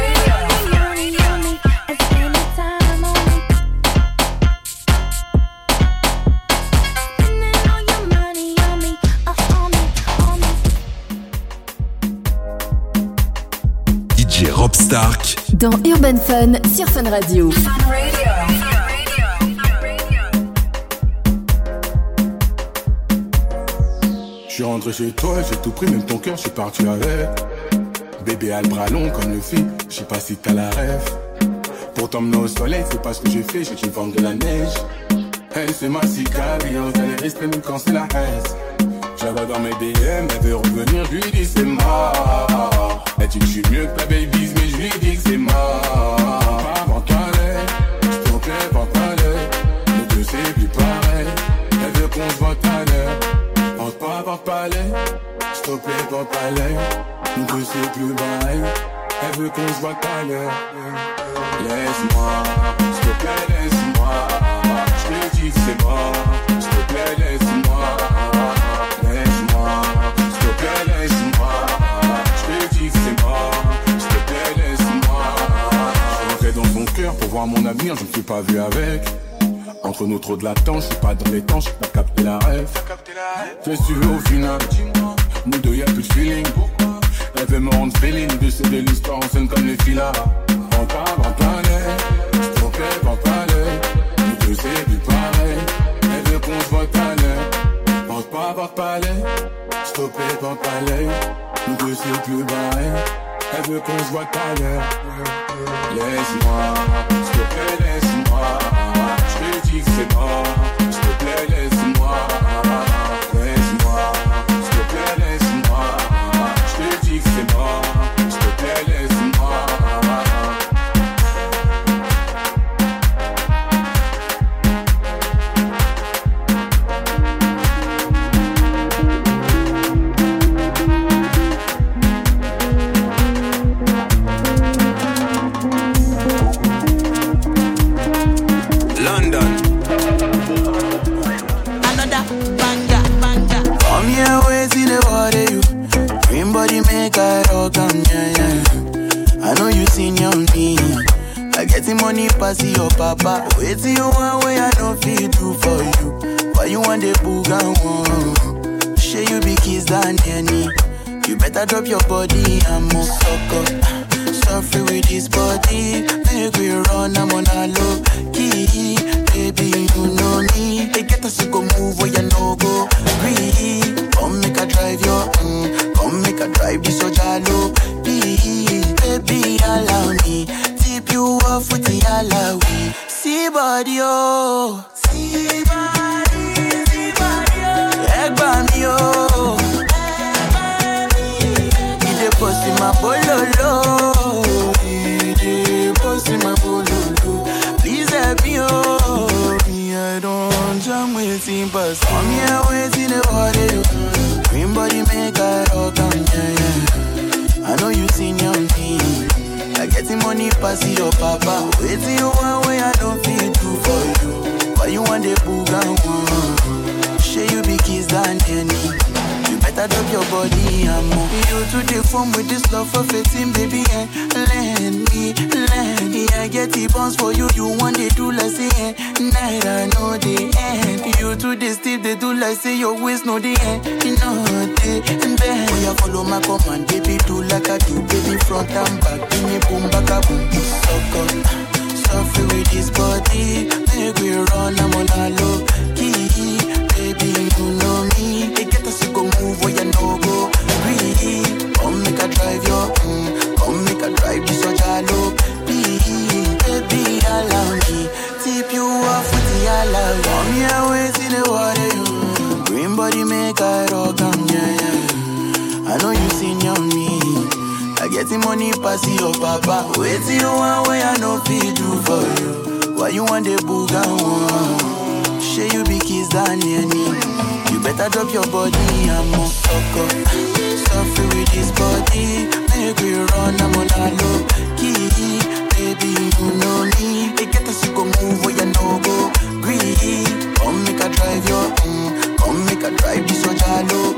D J Rob Stark dans Urban Fun sur Fun Radio. Je suis rentré chez toi, j'ai tout pris, même ton cœur, je suis parti avec. Bébé a le bras long comme le fit, je sais pas si t'as la rêve. Pour t'emmener au soleil, c'est pas ce que j'ai fait, j'ai une forme de la neige. Elle c'est ma cicatrice, elle est restée même quand c'est la haine. J'avais dans mes D M, elle veut revenir, je lui dis c'est mort. Elle dit que je suis mieux que ta baby's, mais je lui dis que c'est mort. Pas avant palais, s'il te plaît, pas palais. Nous deux c'est plus pareil, elle veut qu'on se voit tout à l'heure. Entre pas avoir palais, s'il te plaît, pas palais. Nous deux c'est plus pareil, elle veut qu'on se voit tout à l'heure. Laisse-moi, s'il te plaît, laisse-moi. Je lui dis que c'est mort, s'il te plaît, laisse-moi. Laisse-moi, s'il te plaît, laisse-moi. Je lui dis que c'est mort, s'il te plaît, laisse-moi. Je rentrais dans ton cœur pour voir mon avenir, je ne suis pas vu avec. Entre nous trop de latence, je suis pas dans les temps, j'ai pas capté la rêve. Qu'est-ce que tu veux au final? Nous deux y'a plus de feeling. Elle veut me rendre féline, de c'est de l'histoire en scène comme les filas. En pas, en palais, s'il te plaît, en palais. Nous deux c'est plus pareil, elle veut qu'on se voit tout à l'heure. Pense pas avoir palais, s'il te plaît, en palais. Nous deux c'est plus pareil, elle veut qu'on se voit tout à l'heure. Laisse-moi, s'il te plaît, laisse-moi. Je lui dis que c'est mort, s'il te plaît, laisse-moi. Laisse-moi, s'il te plaît, laisse-moi. Je lui dis que c'est mort, s'il te plaît, laisse-moi. Money pass your papa. Wait till you want way I don't feel do for you. Why you want the boogan one? Share you be kiss than any. You better drop your body and move suck up. Suffer with this body, make we run, I'm on a low key. Baby, you know me. They get us to go move where you no go. Breathe, come make a drive your, mm, come make a drive this so jalo. Please, baby, allow me. Tip you off with the alawi. See body, oh. See body, see body, oh. Egg by me, oh. Ide post in my bololo. Ide post in my bololo. Please help me, oh. Me, I don't jam waiting, but come here waiting the water. Green body make I rock on, yeah, yeah. I know you seen your me. I getting money pass your papa. Waiting you one way I don't feel too for you. Why you want the boogan one? Share you be kiss than any. You better drop your body and move. You to the phone with this love for fifteen, baby, and lend me, lend me. I get the bounce for you. You want they do like say eh? Night I know the end. You to the steep they do like say your waist no the end. You know the end. Oh yeah, follow my command, baby, do like I do, baby, front and back, give me boom back a boom. So good, suffer with this body, make we run, I'm on a low key. Baby, you know me. They get us to go move where you no go. Breathe, come make a drive your, mm, come make a drive this so jalo. Please, baby, allow me. Tip you off with the alawi. Come here, wait in the water, you. Green body make a rock, um, yeah, yeah. I know you seen your me. I get the money pass your papa. Wait till you one way I know feel do for you. Why you want the boogan one? Share you be kiss than any. You better drop your body and move suck up. Suffer with this body, make we run, I'm on a low key. Baby, you know me. They get us to go move where you no go. Breathe, come make a drive your, mm, come make a drive this so jalo.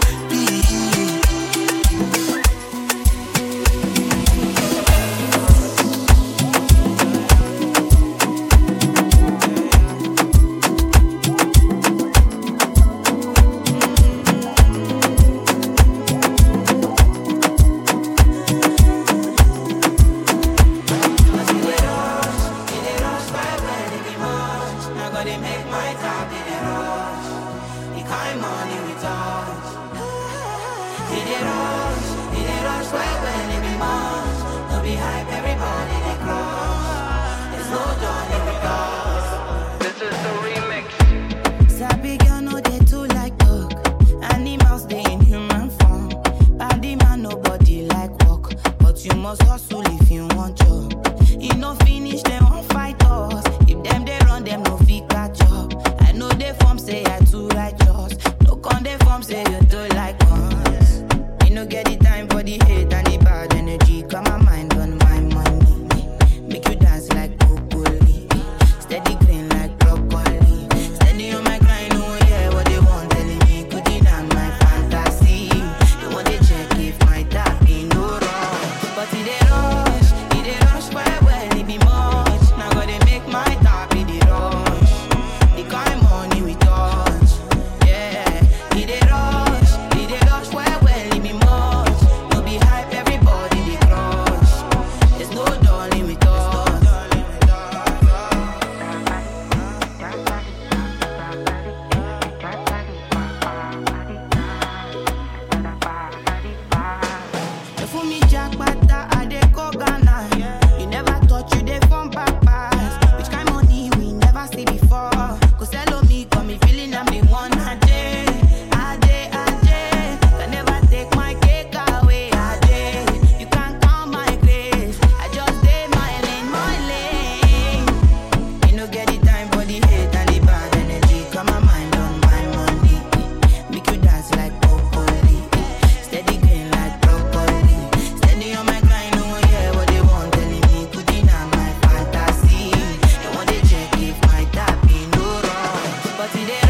But today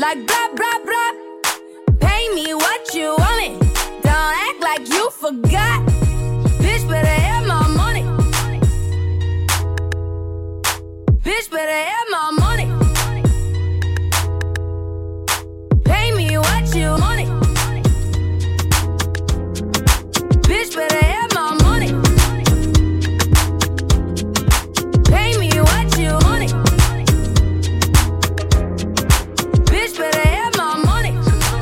like blah, blah, blah. Pay me what you want me. Don't act like you forgot. Bitch, better have my money. Bitch, better have my money. Pay me what you want me. Bitch, better have my money. Pay me what you want it. Bitch, better have my money.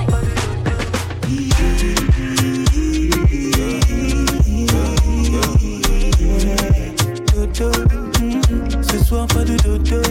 Dodo, mm, ce soir pas de dodo.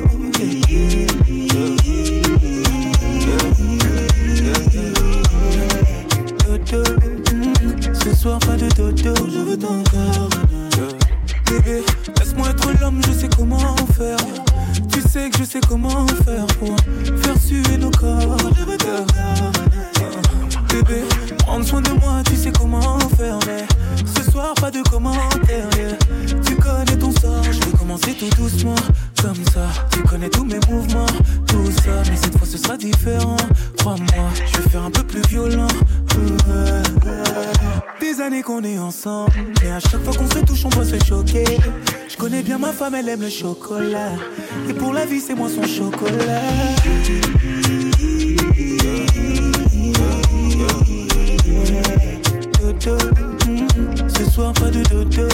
Dodo, mm, ce soir pas de dodo. Je veux ton corps. Bébé, laisse-moi être l'homme, je sais comment faire. Tu sais que je sais comment faire pour faire suer nos corps. Je veux ton corps. Bébé, prendre soin de moi, tu sais comment faire. Mais ce soir, pas de commentaires. Yeah. Tu connais ton sort, je vais commencer tout doucement. Comme ça, tu connais tous mes mouvements. Tout ça, mais cette fois ce sera différent. Crois-moi, je vais faire un peu plus violent. Des années qu'on est ensemble, et à chaque fois qu'on se touche, on doit se choquer. Je connais bien ma femme, elle aime le chocolat. Et pour la vie, c'est moi son chocolat. Dodo, mm, ce soir pas de dodo.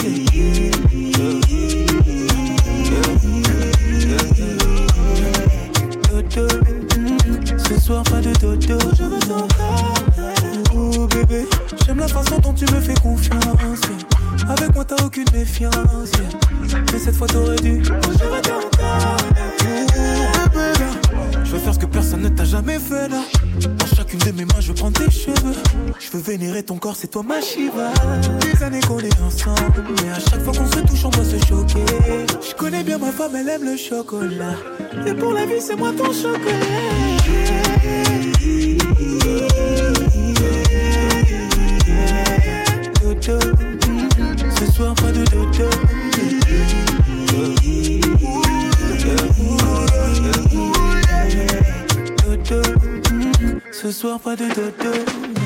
Dodo, mm, ce soir pas de dodo. Je veux ton corps. Oh bébé, j'aime la façon dont tu me fais confiance. Yeah. Avec moi t'as aucune méfiance. Yeah. Mais cette fois t'aurais dû. Je veux ton corps. Oh bébé, je veux faire ce que personne ne t'a jamais fait là. Dans chacune de mes mains je veux prendre tes cheveux. Je veux vénérer ton corps, c'est toi ma Shiva. Des années qu'on est ensemble, mais à chaque fois qu'on se touche on doit se choquer. Je connais bien ma femme, elle aime le chocolat. Et pour la vie c'est moi ton chocolat. Dodo, mm, ce soir pas de dodo. Dodo, mm, ce soir pas de dodo.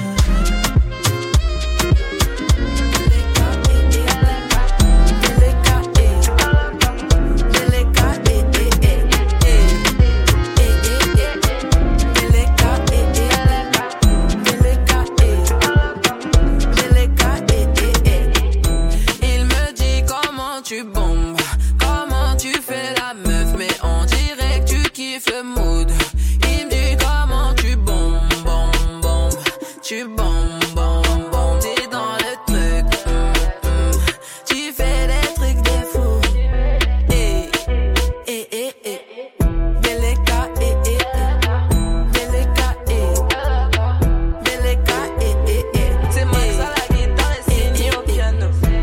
Tu bombes, comment tu fais la meuf, mais on dirait que tu kiffes le mood. Il me dit comment tu bombes, bombes, bombes, tu bombes, bombes, bombes, t'es dans le truc, mm, mm. Tu fais des trucs de fou. Eh, eh, eh, eh, Beleka, eh, eh, eh, Beleka, eh, Beleka, eh, eh, eh, c'est moi ça la guitare et c'est au piano.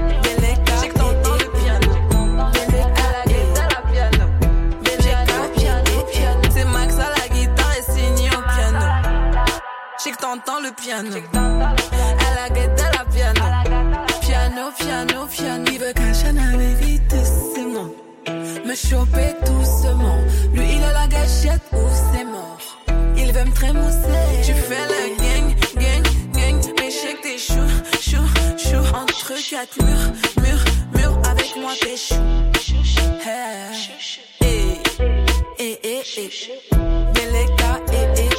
T'entends le piano, à la guette de la piano, piano, piano, piano. Il veut qu'un Chanel vite doucement, me choper doucement. Lui il a la gâchette ou c'est mort. Il veut me trémousser. Tu fais le gang, gang, gang, mais shake tes choux, choux, choux. Entre quatre murs, murs, murs. Avec moi t'es chou. Hey, eh, eh, eh, eh. Beleka, eh, eh, eh.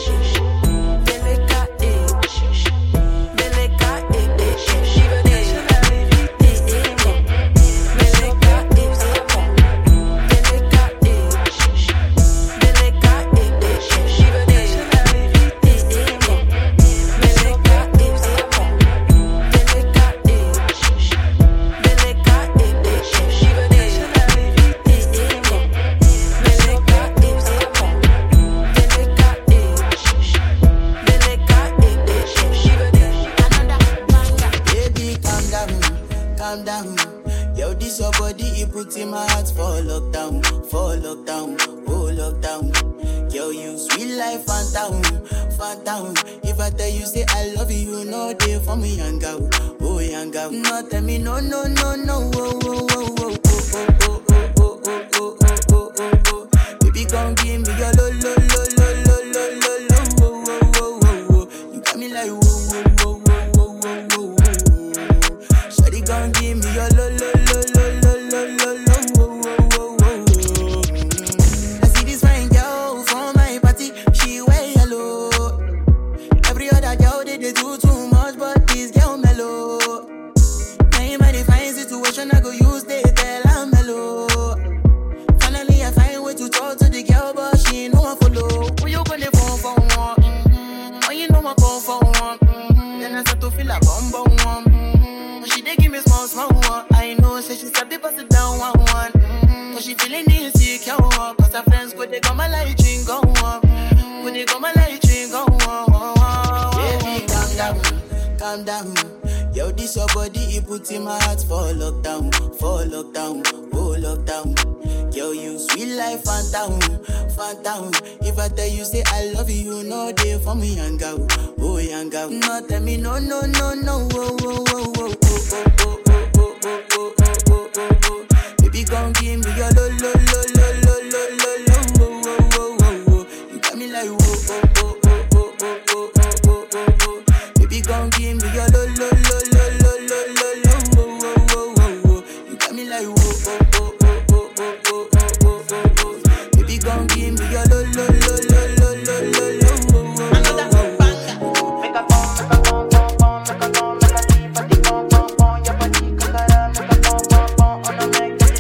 in my heart for lockdown, for lockdown, oh lockdown. Girl, you sweet life, phantom, phantom. If I tell you say I love you, you know they for me, young girl, oh young girl. No tell me no, no, no, no, oh, oh, oh, oh, oh, oh, oh, oh, oh, oh, oh, oh, oh. Baby, come give me your lo, lo, lo, lo, lo, lo, lo, calm down. Yo, this your body, it put in my heart for lockdown, for lockdown, oh lockdown. Yo, you sweet life, phantom, phantom. If I tell you say I love you, you know they for me, young girl, oh young girl. No, tell me no, no, no, no, oh, oh, oh, oh, oh, oh, oh, oh, oh, oh, oh, oh, oh, oh. Baby, gon' give me your lo, lo, lo, lo, lo, lo, lo, lo, oh, oh, oh, oh, oh. You got me like oh, oh, oh, oh, oh, oh, oh, oh, oh, oh, oh. Baby, gon' give me your lo, lo, lo, lo, lo, lo, lo, lo, oh, oh, oh, oh, oh. You got me like oh, oh, oh, oh, oh, oh, oh, oh, oh, oh. Baby, gon' give me your lo, lo, lo, lo, lo, lo, lo, lo, oh, oh, oh, oh. Make a phone, make a phone, phone, phone, make a phone, make a deep, but the phone, phone, phone, your body, kakara, make a phone, phone, phone, on a make it.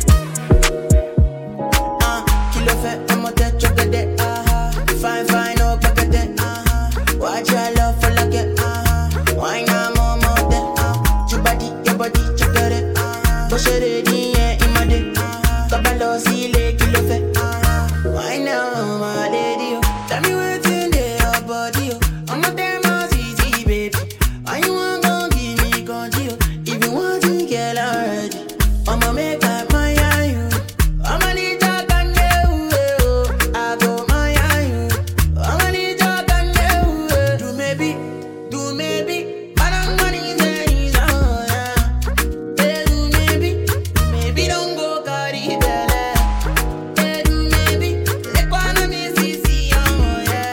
Ah, kilo fait, I'm a dead, choke it, ah, fine, fine, oh, pack it, ah, watch your love for like it, ah, why not more, more, ah, your body, your body, choke it, ah, push it in, yeah, in my day, ah, kabalo, see, le, kilo fait, ah, why now, my lady, tell me what's in there, your body, oh. I'm a damn easy, baby. Why you want gon' give me control? If you want to get already, I'ma make up my eye you. I'ma need talk on you. I go my eye you. I'ma need talk on you. Do maybe, do maybe. I don't want it any oh yeah. Hey, do maybe, maybe don't go carry belly. Hey, do maybe, let go on me see see oh yeah.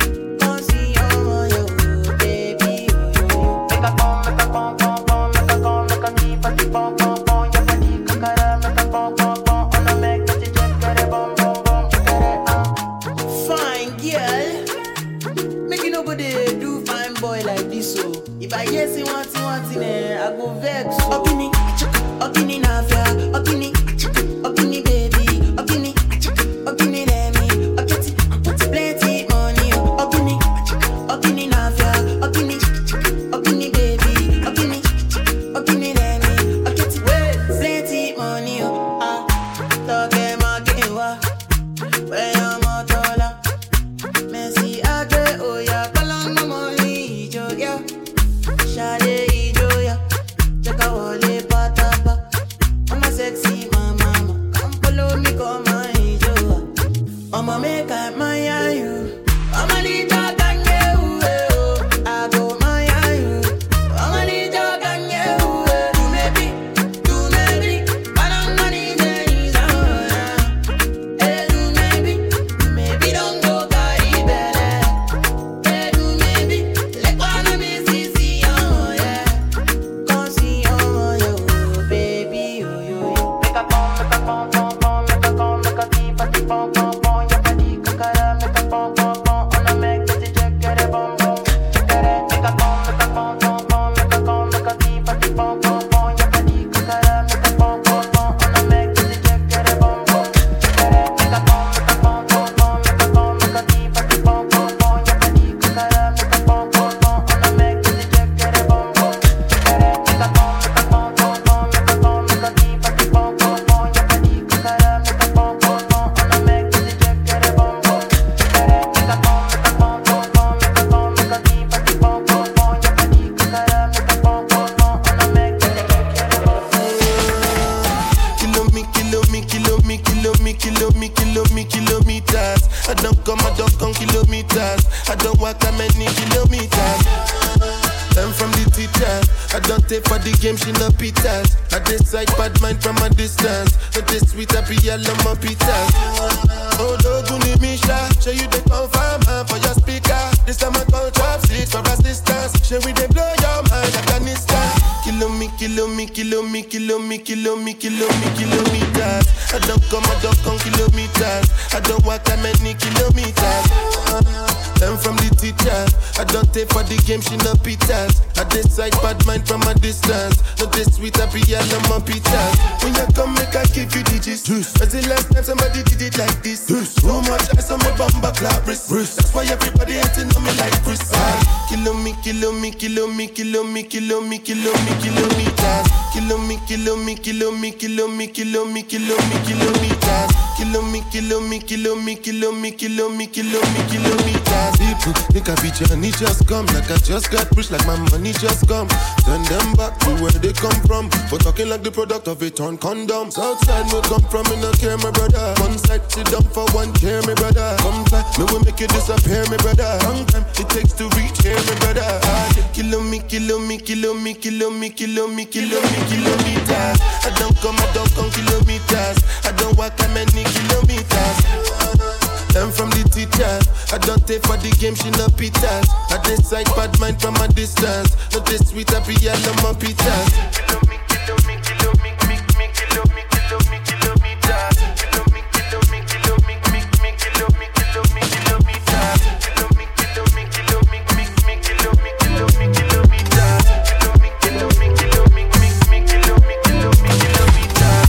Fine girl, make you no go dey do fine boy like this so. If I hear say one thing, one thing, eh, I go vex. Okini, okini na fia, okini, okini baby, okini, okini let me, okiti, put plenty money, okini, okini na fia, okini, okini baby, okini, okini let me, okiti, plenty money, ah, toke makewa, where your motola, Messi agbe oya, kalanga money, joya, shade ijoya, chaka wale patapa, I'm a sexy mama, come follow me, come my joya, I'ma make up my eye you, I'ma need talk on you, oh, I go my eye you, I'ma need talk on you, do maybe, do maybe, I don't want it any oh yeah. Hey, do maybe, maybe don't go carry belly. Hey, do maybe, let go on me see see oh yeah. Come see oh yo, baby oh yo yo. Make a phone, make a phone, phone, phone, make a phone, make a deep, but the phone, phone, phone, your body, kakara, make a phone, phone, phone, on a make it check it, boom boom, check it. Make a phone, make a phone, phone, phone, make a phone, make a deep, but the phone, phone, phone, your body, kakara, make a phone, phone, phone, on a make it check it, boom boom, check it. Make a phone, make a phone, phone, phone, make a phone, make a deep, but the phone, phone, phone, your body, kakara, make a phone, phone, phone, on a make it check it, boom boom, check it. Make a phone, make a phone, phone, phone, make a phone, make a deep, but the phone, phone, phone, your body, kakara, make a phone, phone, phone, on a make it check it, boom boom, check it. Make a phone, make a phone, phone, phone, make a phone, make a deep, but the phone, phone, phone, your body, kakara, make a phone, phone, phone, on a make it check it, boom boom. Kilo me, kilo me, kilo me, kilo me, kilo me, kilo me, kilometers. I don't come, I don't come kilometers. I don't walk that many kilometers. Learn from the teacher. I don't take for the game, she no pitas. I decide bad mind from a distance. Not this sweet, I be all on my pitas. Oh, Doguni Misha, show you the confirm man for your speaker. This time I call trap six for assistance. Show we they blow your mind, Afghanistan. Kilo me, kilo me, kilo me, kilo me, kilo me, kilo me, kilometers. I don't come, I don't come kilometers. I don't walk that many kilometers. Learn from the teacher. I don't take for the game, she no pitas. I decide bad mind from a distance. Not this sweet, I be all on my pitas. When you come, make I give you digits. When's the last time somebody did it like this? Too much ice on my bumper clap wrist. That's why everybody hating on me like Chris. Kilo me, kilo me, kilo me, kilo me, kilo me, kilo me, kilometers. Kilo me, kilo me, kilo me, kilo me, kilo me, kilo me, kilometers. Kilo me, kilo me, kilo me, kilo me, kilo me, kilo me, kilometers. People think I be Johnny just come, like I just got rich, like my money just come. Send them back to where they come from, for talking like the product of a torn condom. Southside me come from, me no care, my brother. One side sit down for one chair, my brother. Come fly, me will make you disappear, my brother. Long time it takes to reach here, my brother. Kilo me, kilo me, kilo me, kilo me, kilo me, kilo me, kilometers. I don't come, I don't come kilometers. I don't walk that many kilometers. I'm from the teachers. I don't take for the game, she no pitas. I decide bad mind from a distance. Not this sweet, I be all on my pitas. Kilo me, kilo me, kilo me, me, me, kilo me, kilo me, kilometers. Kilo me, kilo me, kilo me, me, me, kilo me, kilo me, kilometers. Kilo me, kilo me, kilo me, me, me, kilo me, kilo me, kilometers. Kilo me, kilo me, kilo me, me, me, kilo me, kilo me, kilometers.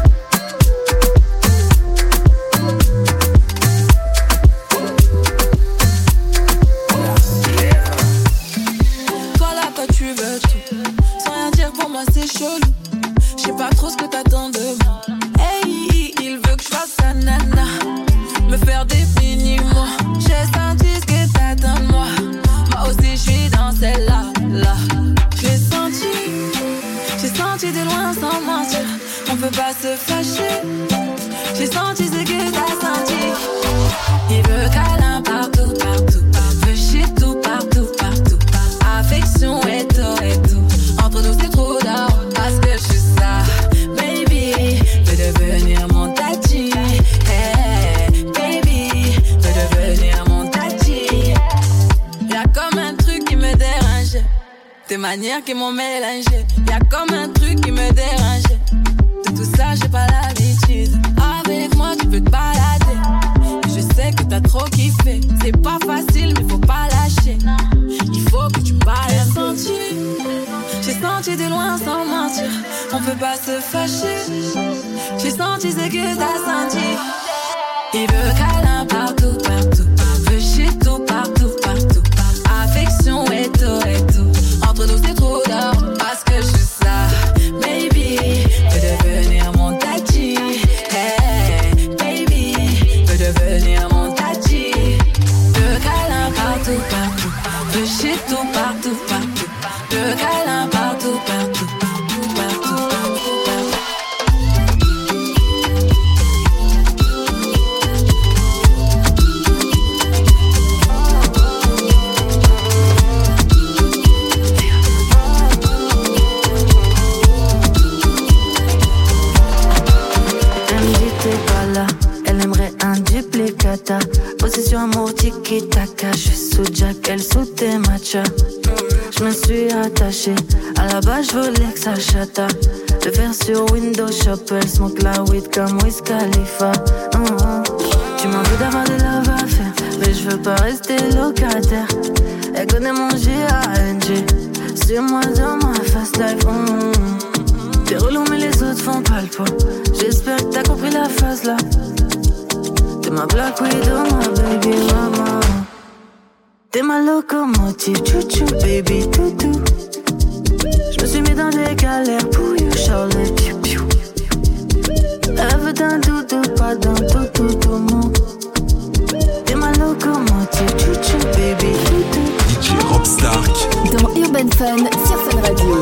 Toi là, toi tu veux tout, sans rien dire pour moi c'est chelou. J'sais pas trop ce que t'attends de moi. Hey, il veut que je fasse sa nana, me faire des mini-mois. J'ai senti ce que t'attends de moi. Moi aussi j'suis dans celle-là, là. J'ai senti, j'ai senti de loin sans mentir. On peut pas se fâcher. J'ai senti ce que t'as senti. Il veut câlin partout, partout. Veut chier tout, partout, partout. Affection et tout, et tout. Entre nous c'est trop d'or, parce que je suis ça. Baby, veux devenir mon tati. Hey, baby, veux devenir mon tati. Y'a comme un truc qui me dérange. Tes manières qui m'ont mélangé. Y'a comme un truc qui me dérange. De tout ça j'ai pas l'habitude. Avec moi tu peux te balader. Je sais que t'as trop kiffé. C'est pas facile mais faut pas lâcher. Il faut que tu parles. J'ai senti, j'ai senti de loin sans mentir. On peut pas se fâcher. J'ai senti ce que t'as senti. Il veut câlin partout, partout. Veut chier tout, partout, partout. Affection et tout, et tout. Entre nous c'est trop d'or, parce que je suis ça. Baby, veux devenir mon tati. Hey, baby, veux devenir mon tati. Veux câlin partout, partout. Veux chier tout, partout, partout. Veux câlin partout, partout. Partout, partout, partout. Elle aimerait un duplicata. Possession amour tiki-taka. Je suis sous Jack, elle sous tes matchas. Je me suis attachée. À la base, je voulais que ça chata. Le faire sur Windows Shop. Elle smoke la weed comme Wiz Khalifa. Mm-hmm. Tu m'en veux d'avoir des love à faire, mais je veux pas rester locataire. Elle connaît mon G A N G. Suis-moi dans ma fast life. Mm-hmm. T'es relou mais les autres font pas le poids. J'espère que t'as compris la phase là. T'es ma Black Widow, ma baby mama. T'es ma locomotive, chouchou, baby toutou. J'me suis mis dans des galères pour you, Charlotte, piou piou. Elle veut d'un doudou, pas d'un toutou, tout mon. T'es ma locomotive, chouchou, baby toutou. D J Rob Stark dans Urban Fun sur Fun Radio.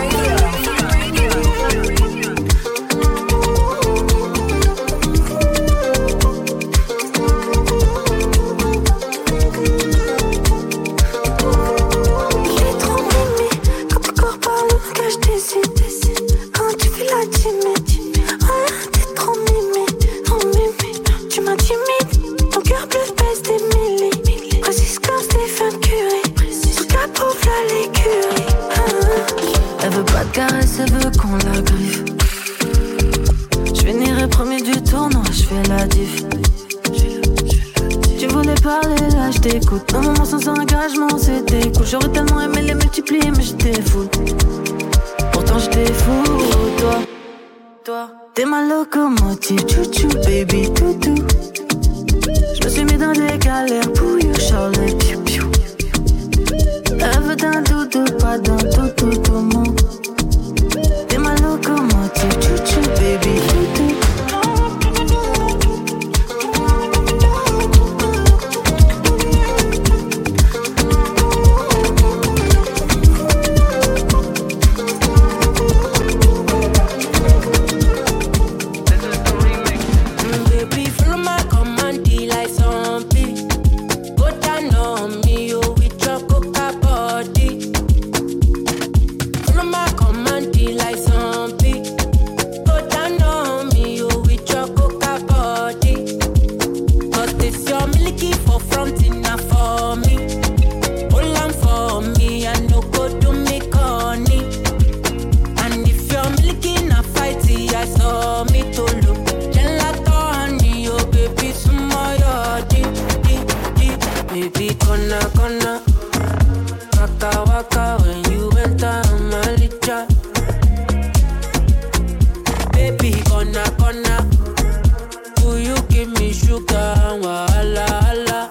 Elle veut qu'on la griffe. Je finirai premier du tournoi, je fais la diff. Tu voulais parler là, je t'écoute. Un moment sans engagement, c'était cool. J'aurais tellement aimé les multiplier, mais j'étais fou. Pourtant j'étais fou, toi. Toi, t'es ma locomotive, chouchou, baby toutou. Je me suis mis dans des galères pour you, Charlotte, piou piou. Elle veut d'un doudou, pas d'un toutou, tout mon. T'es ma locomotive, chouchou, baby toutou. Baby, gonna, gonna. Waka, waka, when you enter my licha. Baby, gonna, gonna. Will you give me sugar and wahala, hala?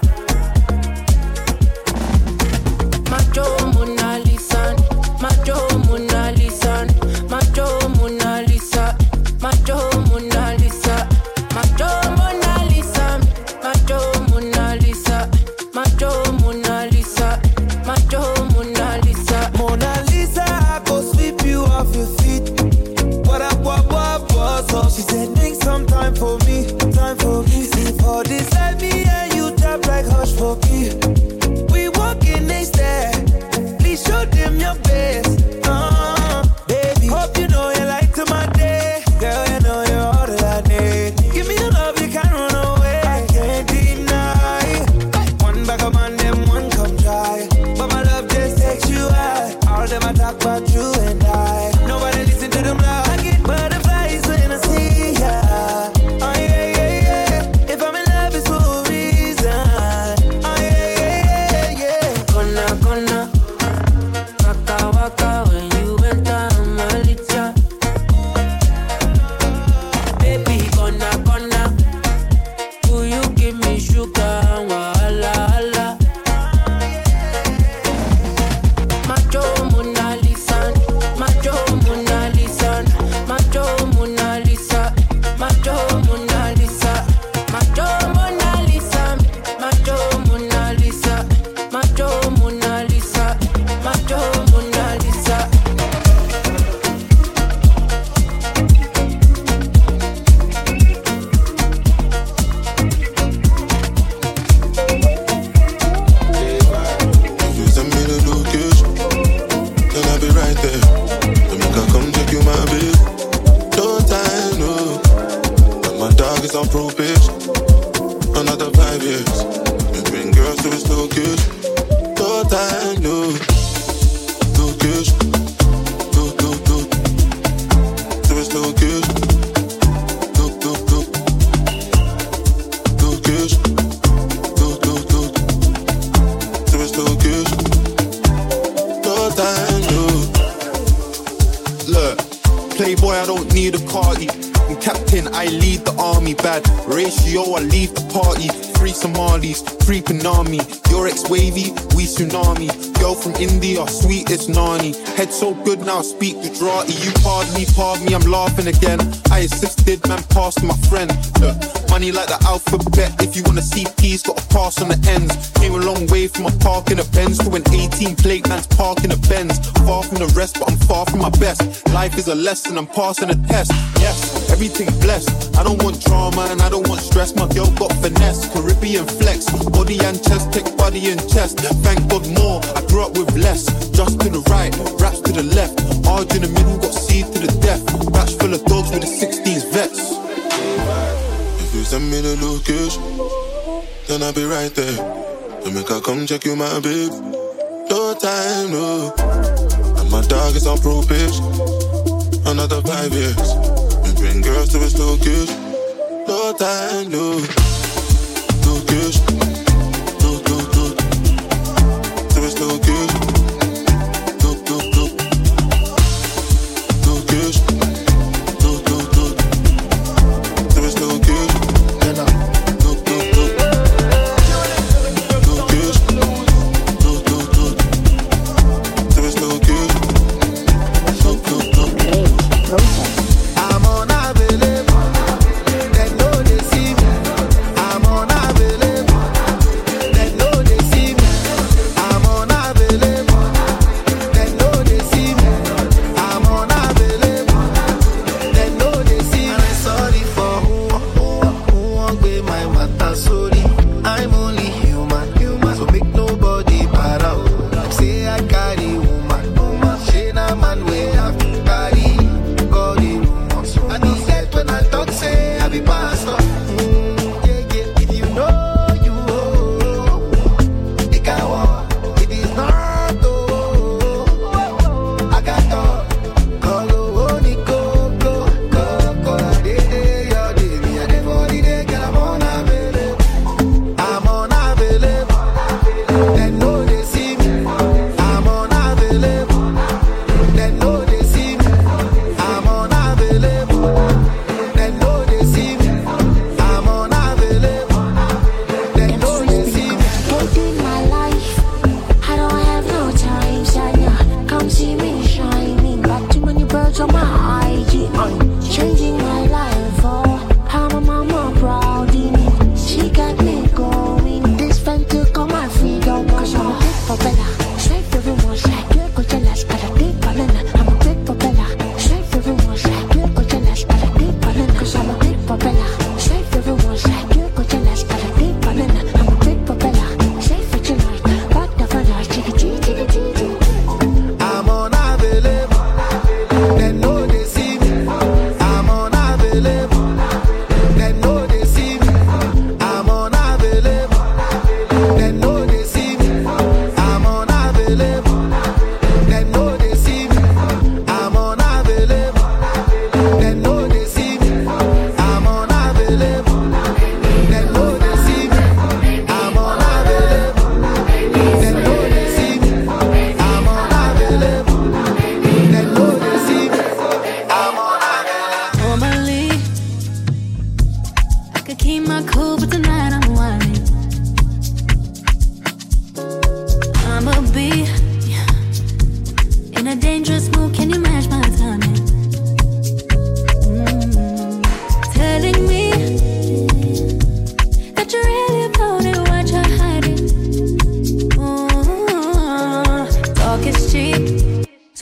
Macho Mona Lisa, Macho Mona Lisa, Macho Mona Lisa, Macho Mona Lisa, Macho Mona Lisa, Macho Mona Lisa, Macho Mona Lisa, Macho Mona Lisa. Mona Lisa, I go sweep you off your feet. What up, what, what, what's up? She said, make some time for me, time for me. See for this, let me and you tap like hush for me. We walking next there. Please show them your best. Uh, baby, hope you know you like to my day. Girl, you know you're all that I need. Give me your love, you can't run away. I can't deny. One back of man, them one come try. But my love just takes you high. All them I talk about you and I. Nobody listen to them loud. I get butterflies when I see ya. Oh yeah, yeah, yeah. If I'm in love, it's for a reason. Oh yeah, yeah, yeah, yeah. Gonna, gonna. Waka, waka, when you enter my licha. Baby, gonna, gonna. Will you give me sugar and wahala, hala? Macho Mona Lisa, Macho Mona Lisa, Macho Mona Lisa, Macho Mona Lisa, Macho Mona Lisa, Macho Mona Lisa, Macho Mona Lisa, Macho Mona Lisa. If you send me the location, then I'll be right there. Then make her come check you, my babe. No time, no. And my dog is on probation. Another five years. Between girls to his location. No time, no. Location. Look, look, look. To his location. Look, look, look. Location. Look, look, look. To his location. No time, no. Look, playboy, I don't need a cardi. I'm captain, I lead the army. Bad ratio, I leave the party. Three Somalis, three Panami. Your ex-wavy, we tsunami. Girl from India, sweet as Nani. Head so good now, I speak Gujarati. You pardon me, pardon me, I'm laughing again. I assisted, man, passed my friend. Look, money like the alphabet. If you wanna see P's, gotta pass on the ends. Came a long way from a park in a Benz to an eighteen plate man's park in a Benz. Far from the rest, but I'm far from my best. Life is a lesson, I'm passing a test. Yes, everything blessed. I don't want drama and I don't want stress. My girl got finesse, Caribbean flex. Body and chest, take body and chest. Thank God more, I grew up with less. Just to the right, raps to the left. Arge in the middle, got C to the death. Batch full of dogs with the sixteens vets. If you send me the location, then I'll be right there. Then make her come check you, my babe. No time, no. And my dog is on probation. Another five years. Between girls to his location. No time, no. Location. Look, look, look. To his location. Look, look, look. Location. Look, look, look. To his location. Look, look, look. Location. Look, look, look. To his location. Look, look, look. I'm unavailable. They know they see me. I'm unavailable. They know they see me. I'm unavailable. They know they see me. I'm unavailable. They know they see me. And I'm sorry for who, who, who won't be my matter. Sorry, I'm only human, human. So make nobody para. Say I carry woman, woman. She na man way have to carry. God in woman. And he said when I talk, say I be pastor. Mm, yeah, yeah. If you know you owe, it can walk. It is not oh, I got talk. Call only go, go, go, go. Day, day, your day, me a day for the day, girl, I'm unavailable. I'm unavailable.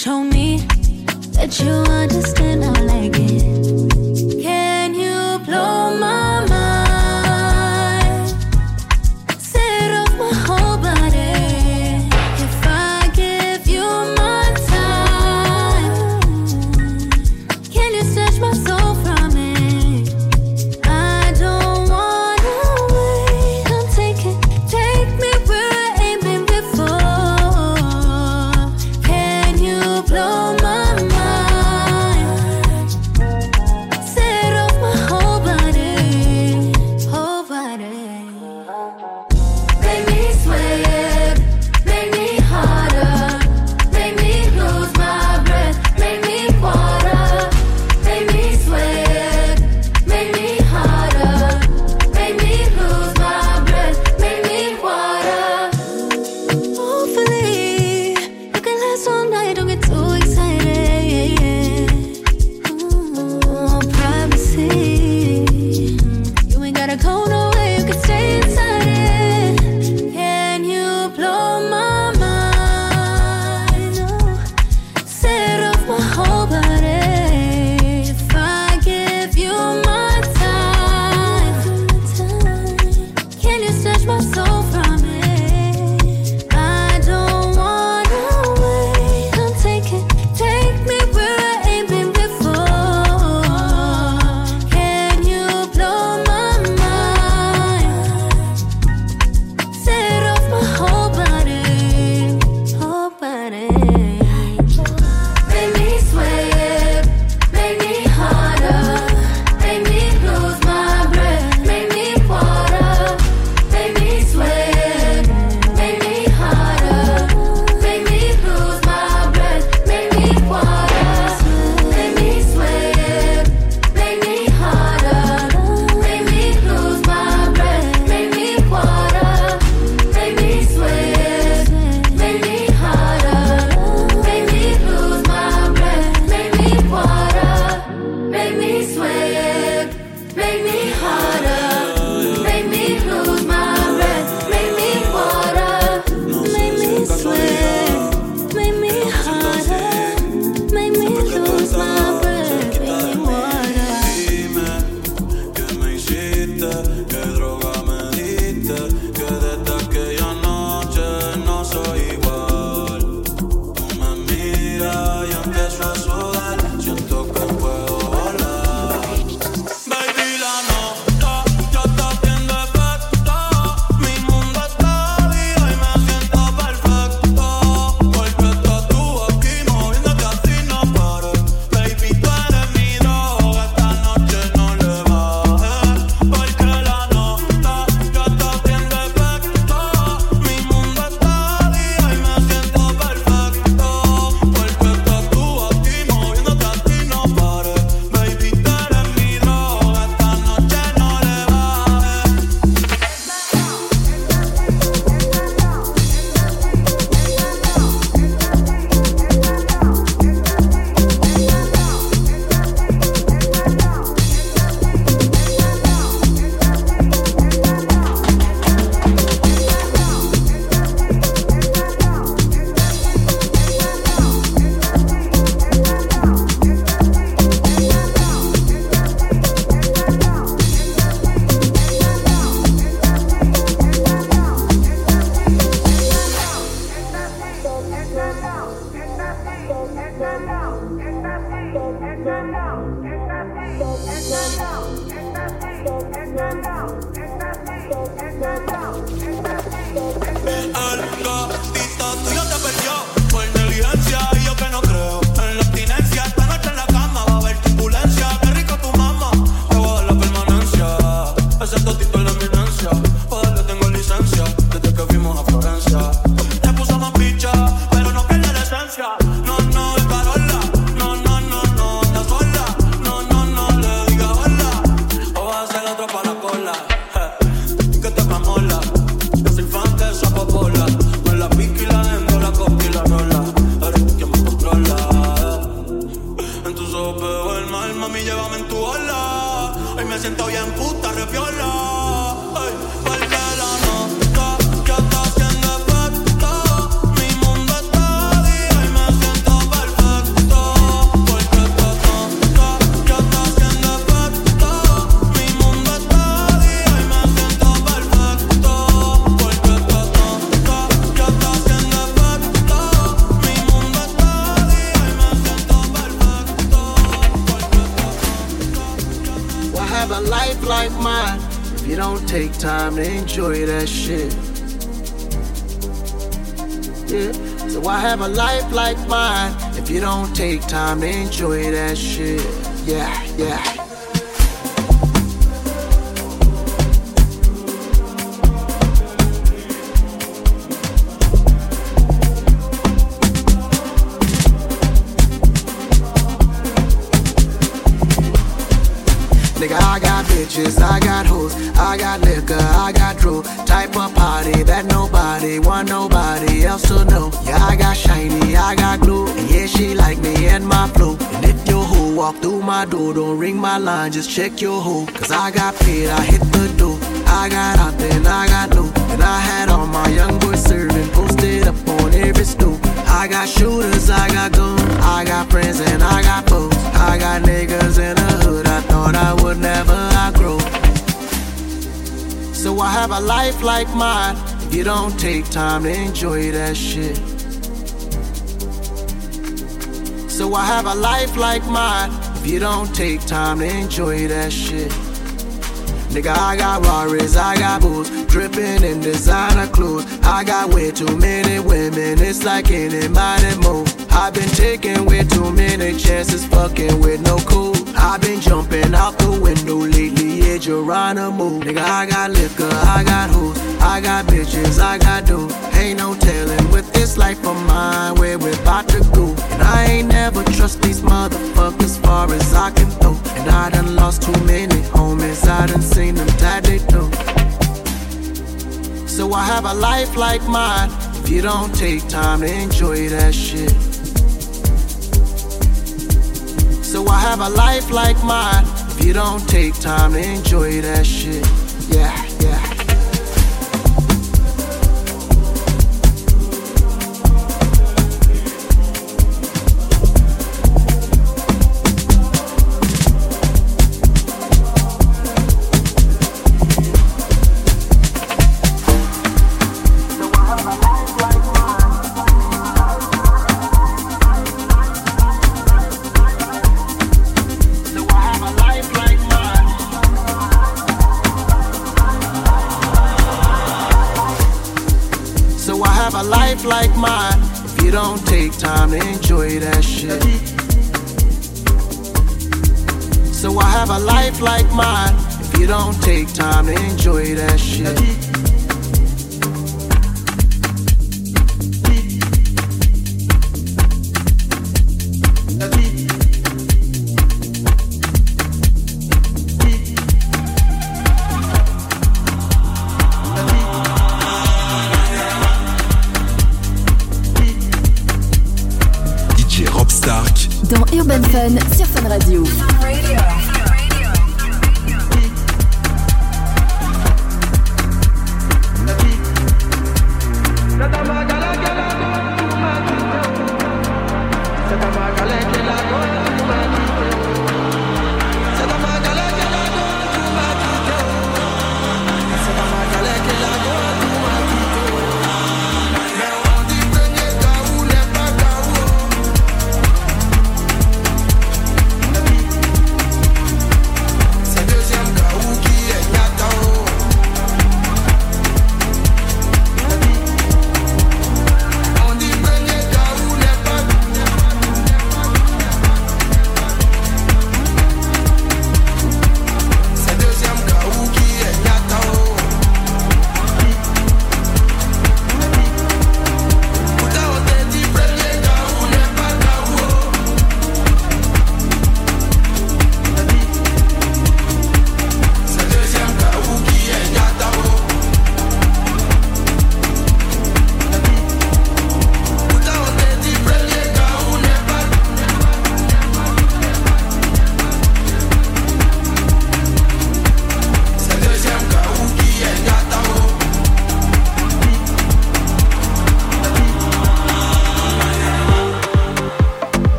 show me that you understand I like it. Can you blow my mind? Set off my whole body. If I give you my time, can you snatch my soul from it? I don't wanna wait. Come take it, take me where I ain't been before. Can you blow my mind? life like mine if you don't take time to enjoy that shit. Yeah, so I have a life like mine if you don't take time to enjoy that shit. Yeah, yeah. Nigga, I got bitches, I got hoes, I got liquor, I got drew. Type of party that nobody want nobody else to know. Yeah, I got shiny, I got glue, and yeah, she like me and my flow. And if your hoe walk through my door, don't ring my line, just check your hoe. Cause I got paid, I hit the door. I got out then I got low. And I had all my young boys serving, posted up on every stool. I got shooters, I got guns, I got friends and I got foes. I got niggas in the hood, I thought I would never outgrow. So I have a life like mine if you don't take time to enjoy that shit. So I have a life like mine if you don't take time to enjoy that shit. Nigga, I got Rarries, I got booze, dripping in designer clothes. I got way too many women, it's like anybody move. I've been taking way too many chances, fucking with no cool. I've been jumping out the window lately, yeah, Geronimo. Nigga, I got liquor, I got hoes, I got bitches, I got dough. Ain't no telling with this life of mine where we're about to go. And I ain't never trust these motherfuckers far as I can throw. And I done lost too many homies, I done seen them die they do. So I have a life like mine if you don't take time to enjoy that shit. So I have a life like mine if you don't take time to enjoy that shit. Yeah, yeah. Like mine if you don't take time to enjoy that shit. So I have a life like mine if you don't take time to enjoy that shit. Dans Urban Fun sur Fun Radio.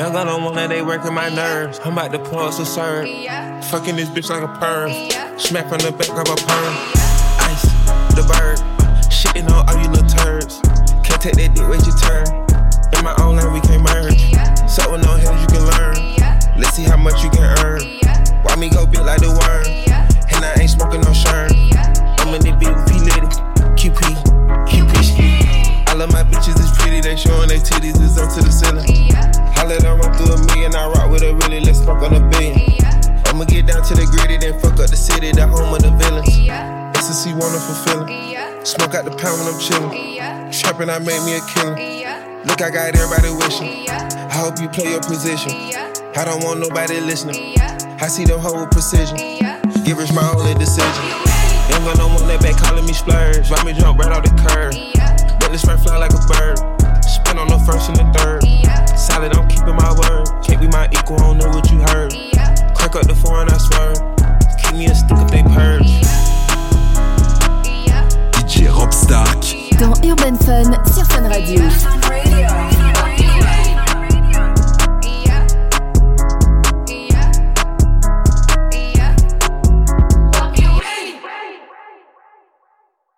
Young gun on one that they working my nerves. I'm about to pour us a serve. Fucking this bitch like a perm. Smack from the back of a perm. Ice, the bird. Shitting on all you little turds. Can't take that dick, wait your turn. In my own lane, we can't merge. So with no heads, you can learn. Let's see how much you can earn. Why me go big like the worm? And I ain't smoking no shirt. I'm in the beat with P-Litty. Q P, Q P. I love my bitches, it's pretty. They showing their titties, it's up to the ceiling. I let her run through a million. I rock with her really, let's fuck on a billion. I'ma get down to the gritty, then fuck up the city, the home of the villains. Ecstasy, wonderful feeling. Smoke out the pound when I'm chillin'. Trappin', I made me a killer. Look, I got everybody wishing. I hope you play your position. I don't want nobody listening. I see them hoe with precision. Give us my only decision. Young gun don't want that back calling me splurge. Ride me jump right off the curb. Let this right fly like a bird. Spin on the first and the third. Solid, I'm keeping my word. Can't be my equal, I don't know what you heard. Crack up the foreign, I swear. Keep me a stick if they purge. D J Rob Stark dans Urban Fun sur Fun Radio.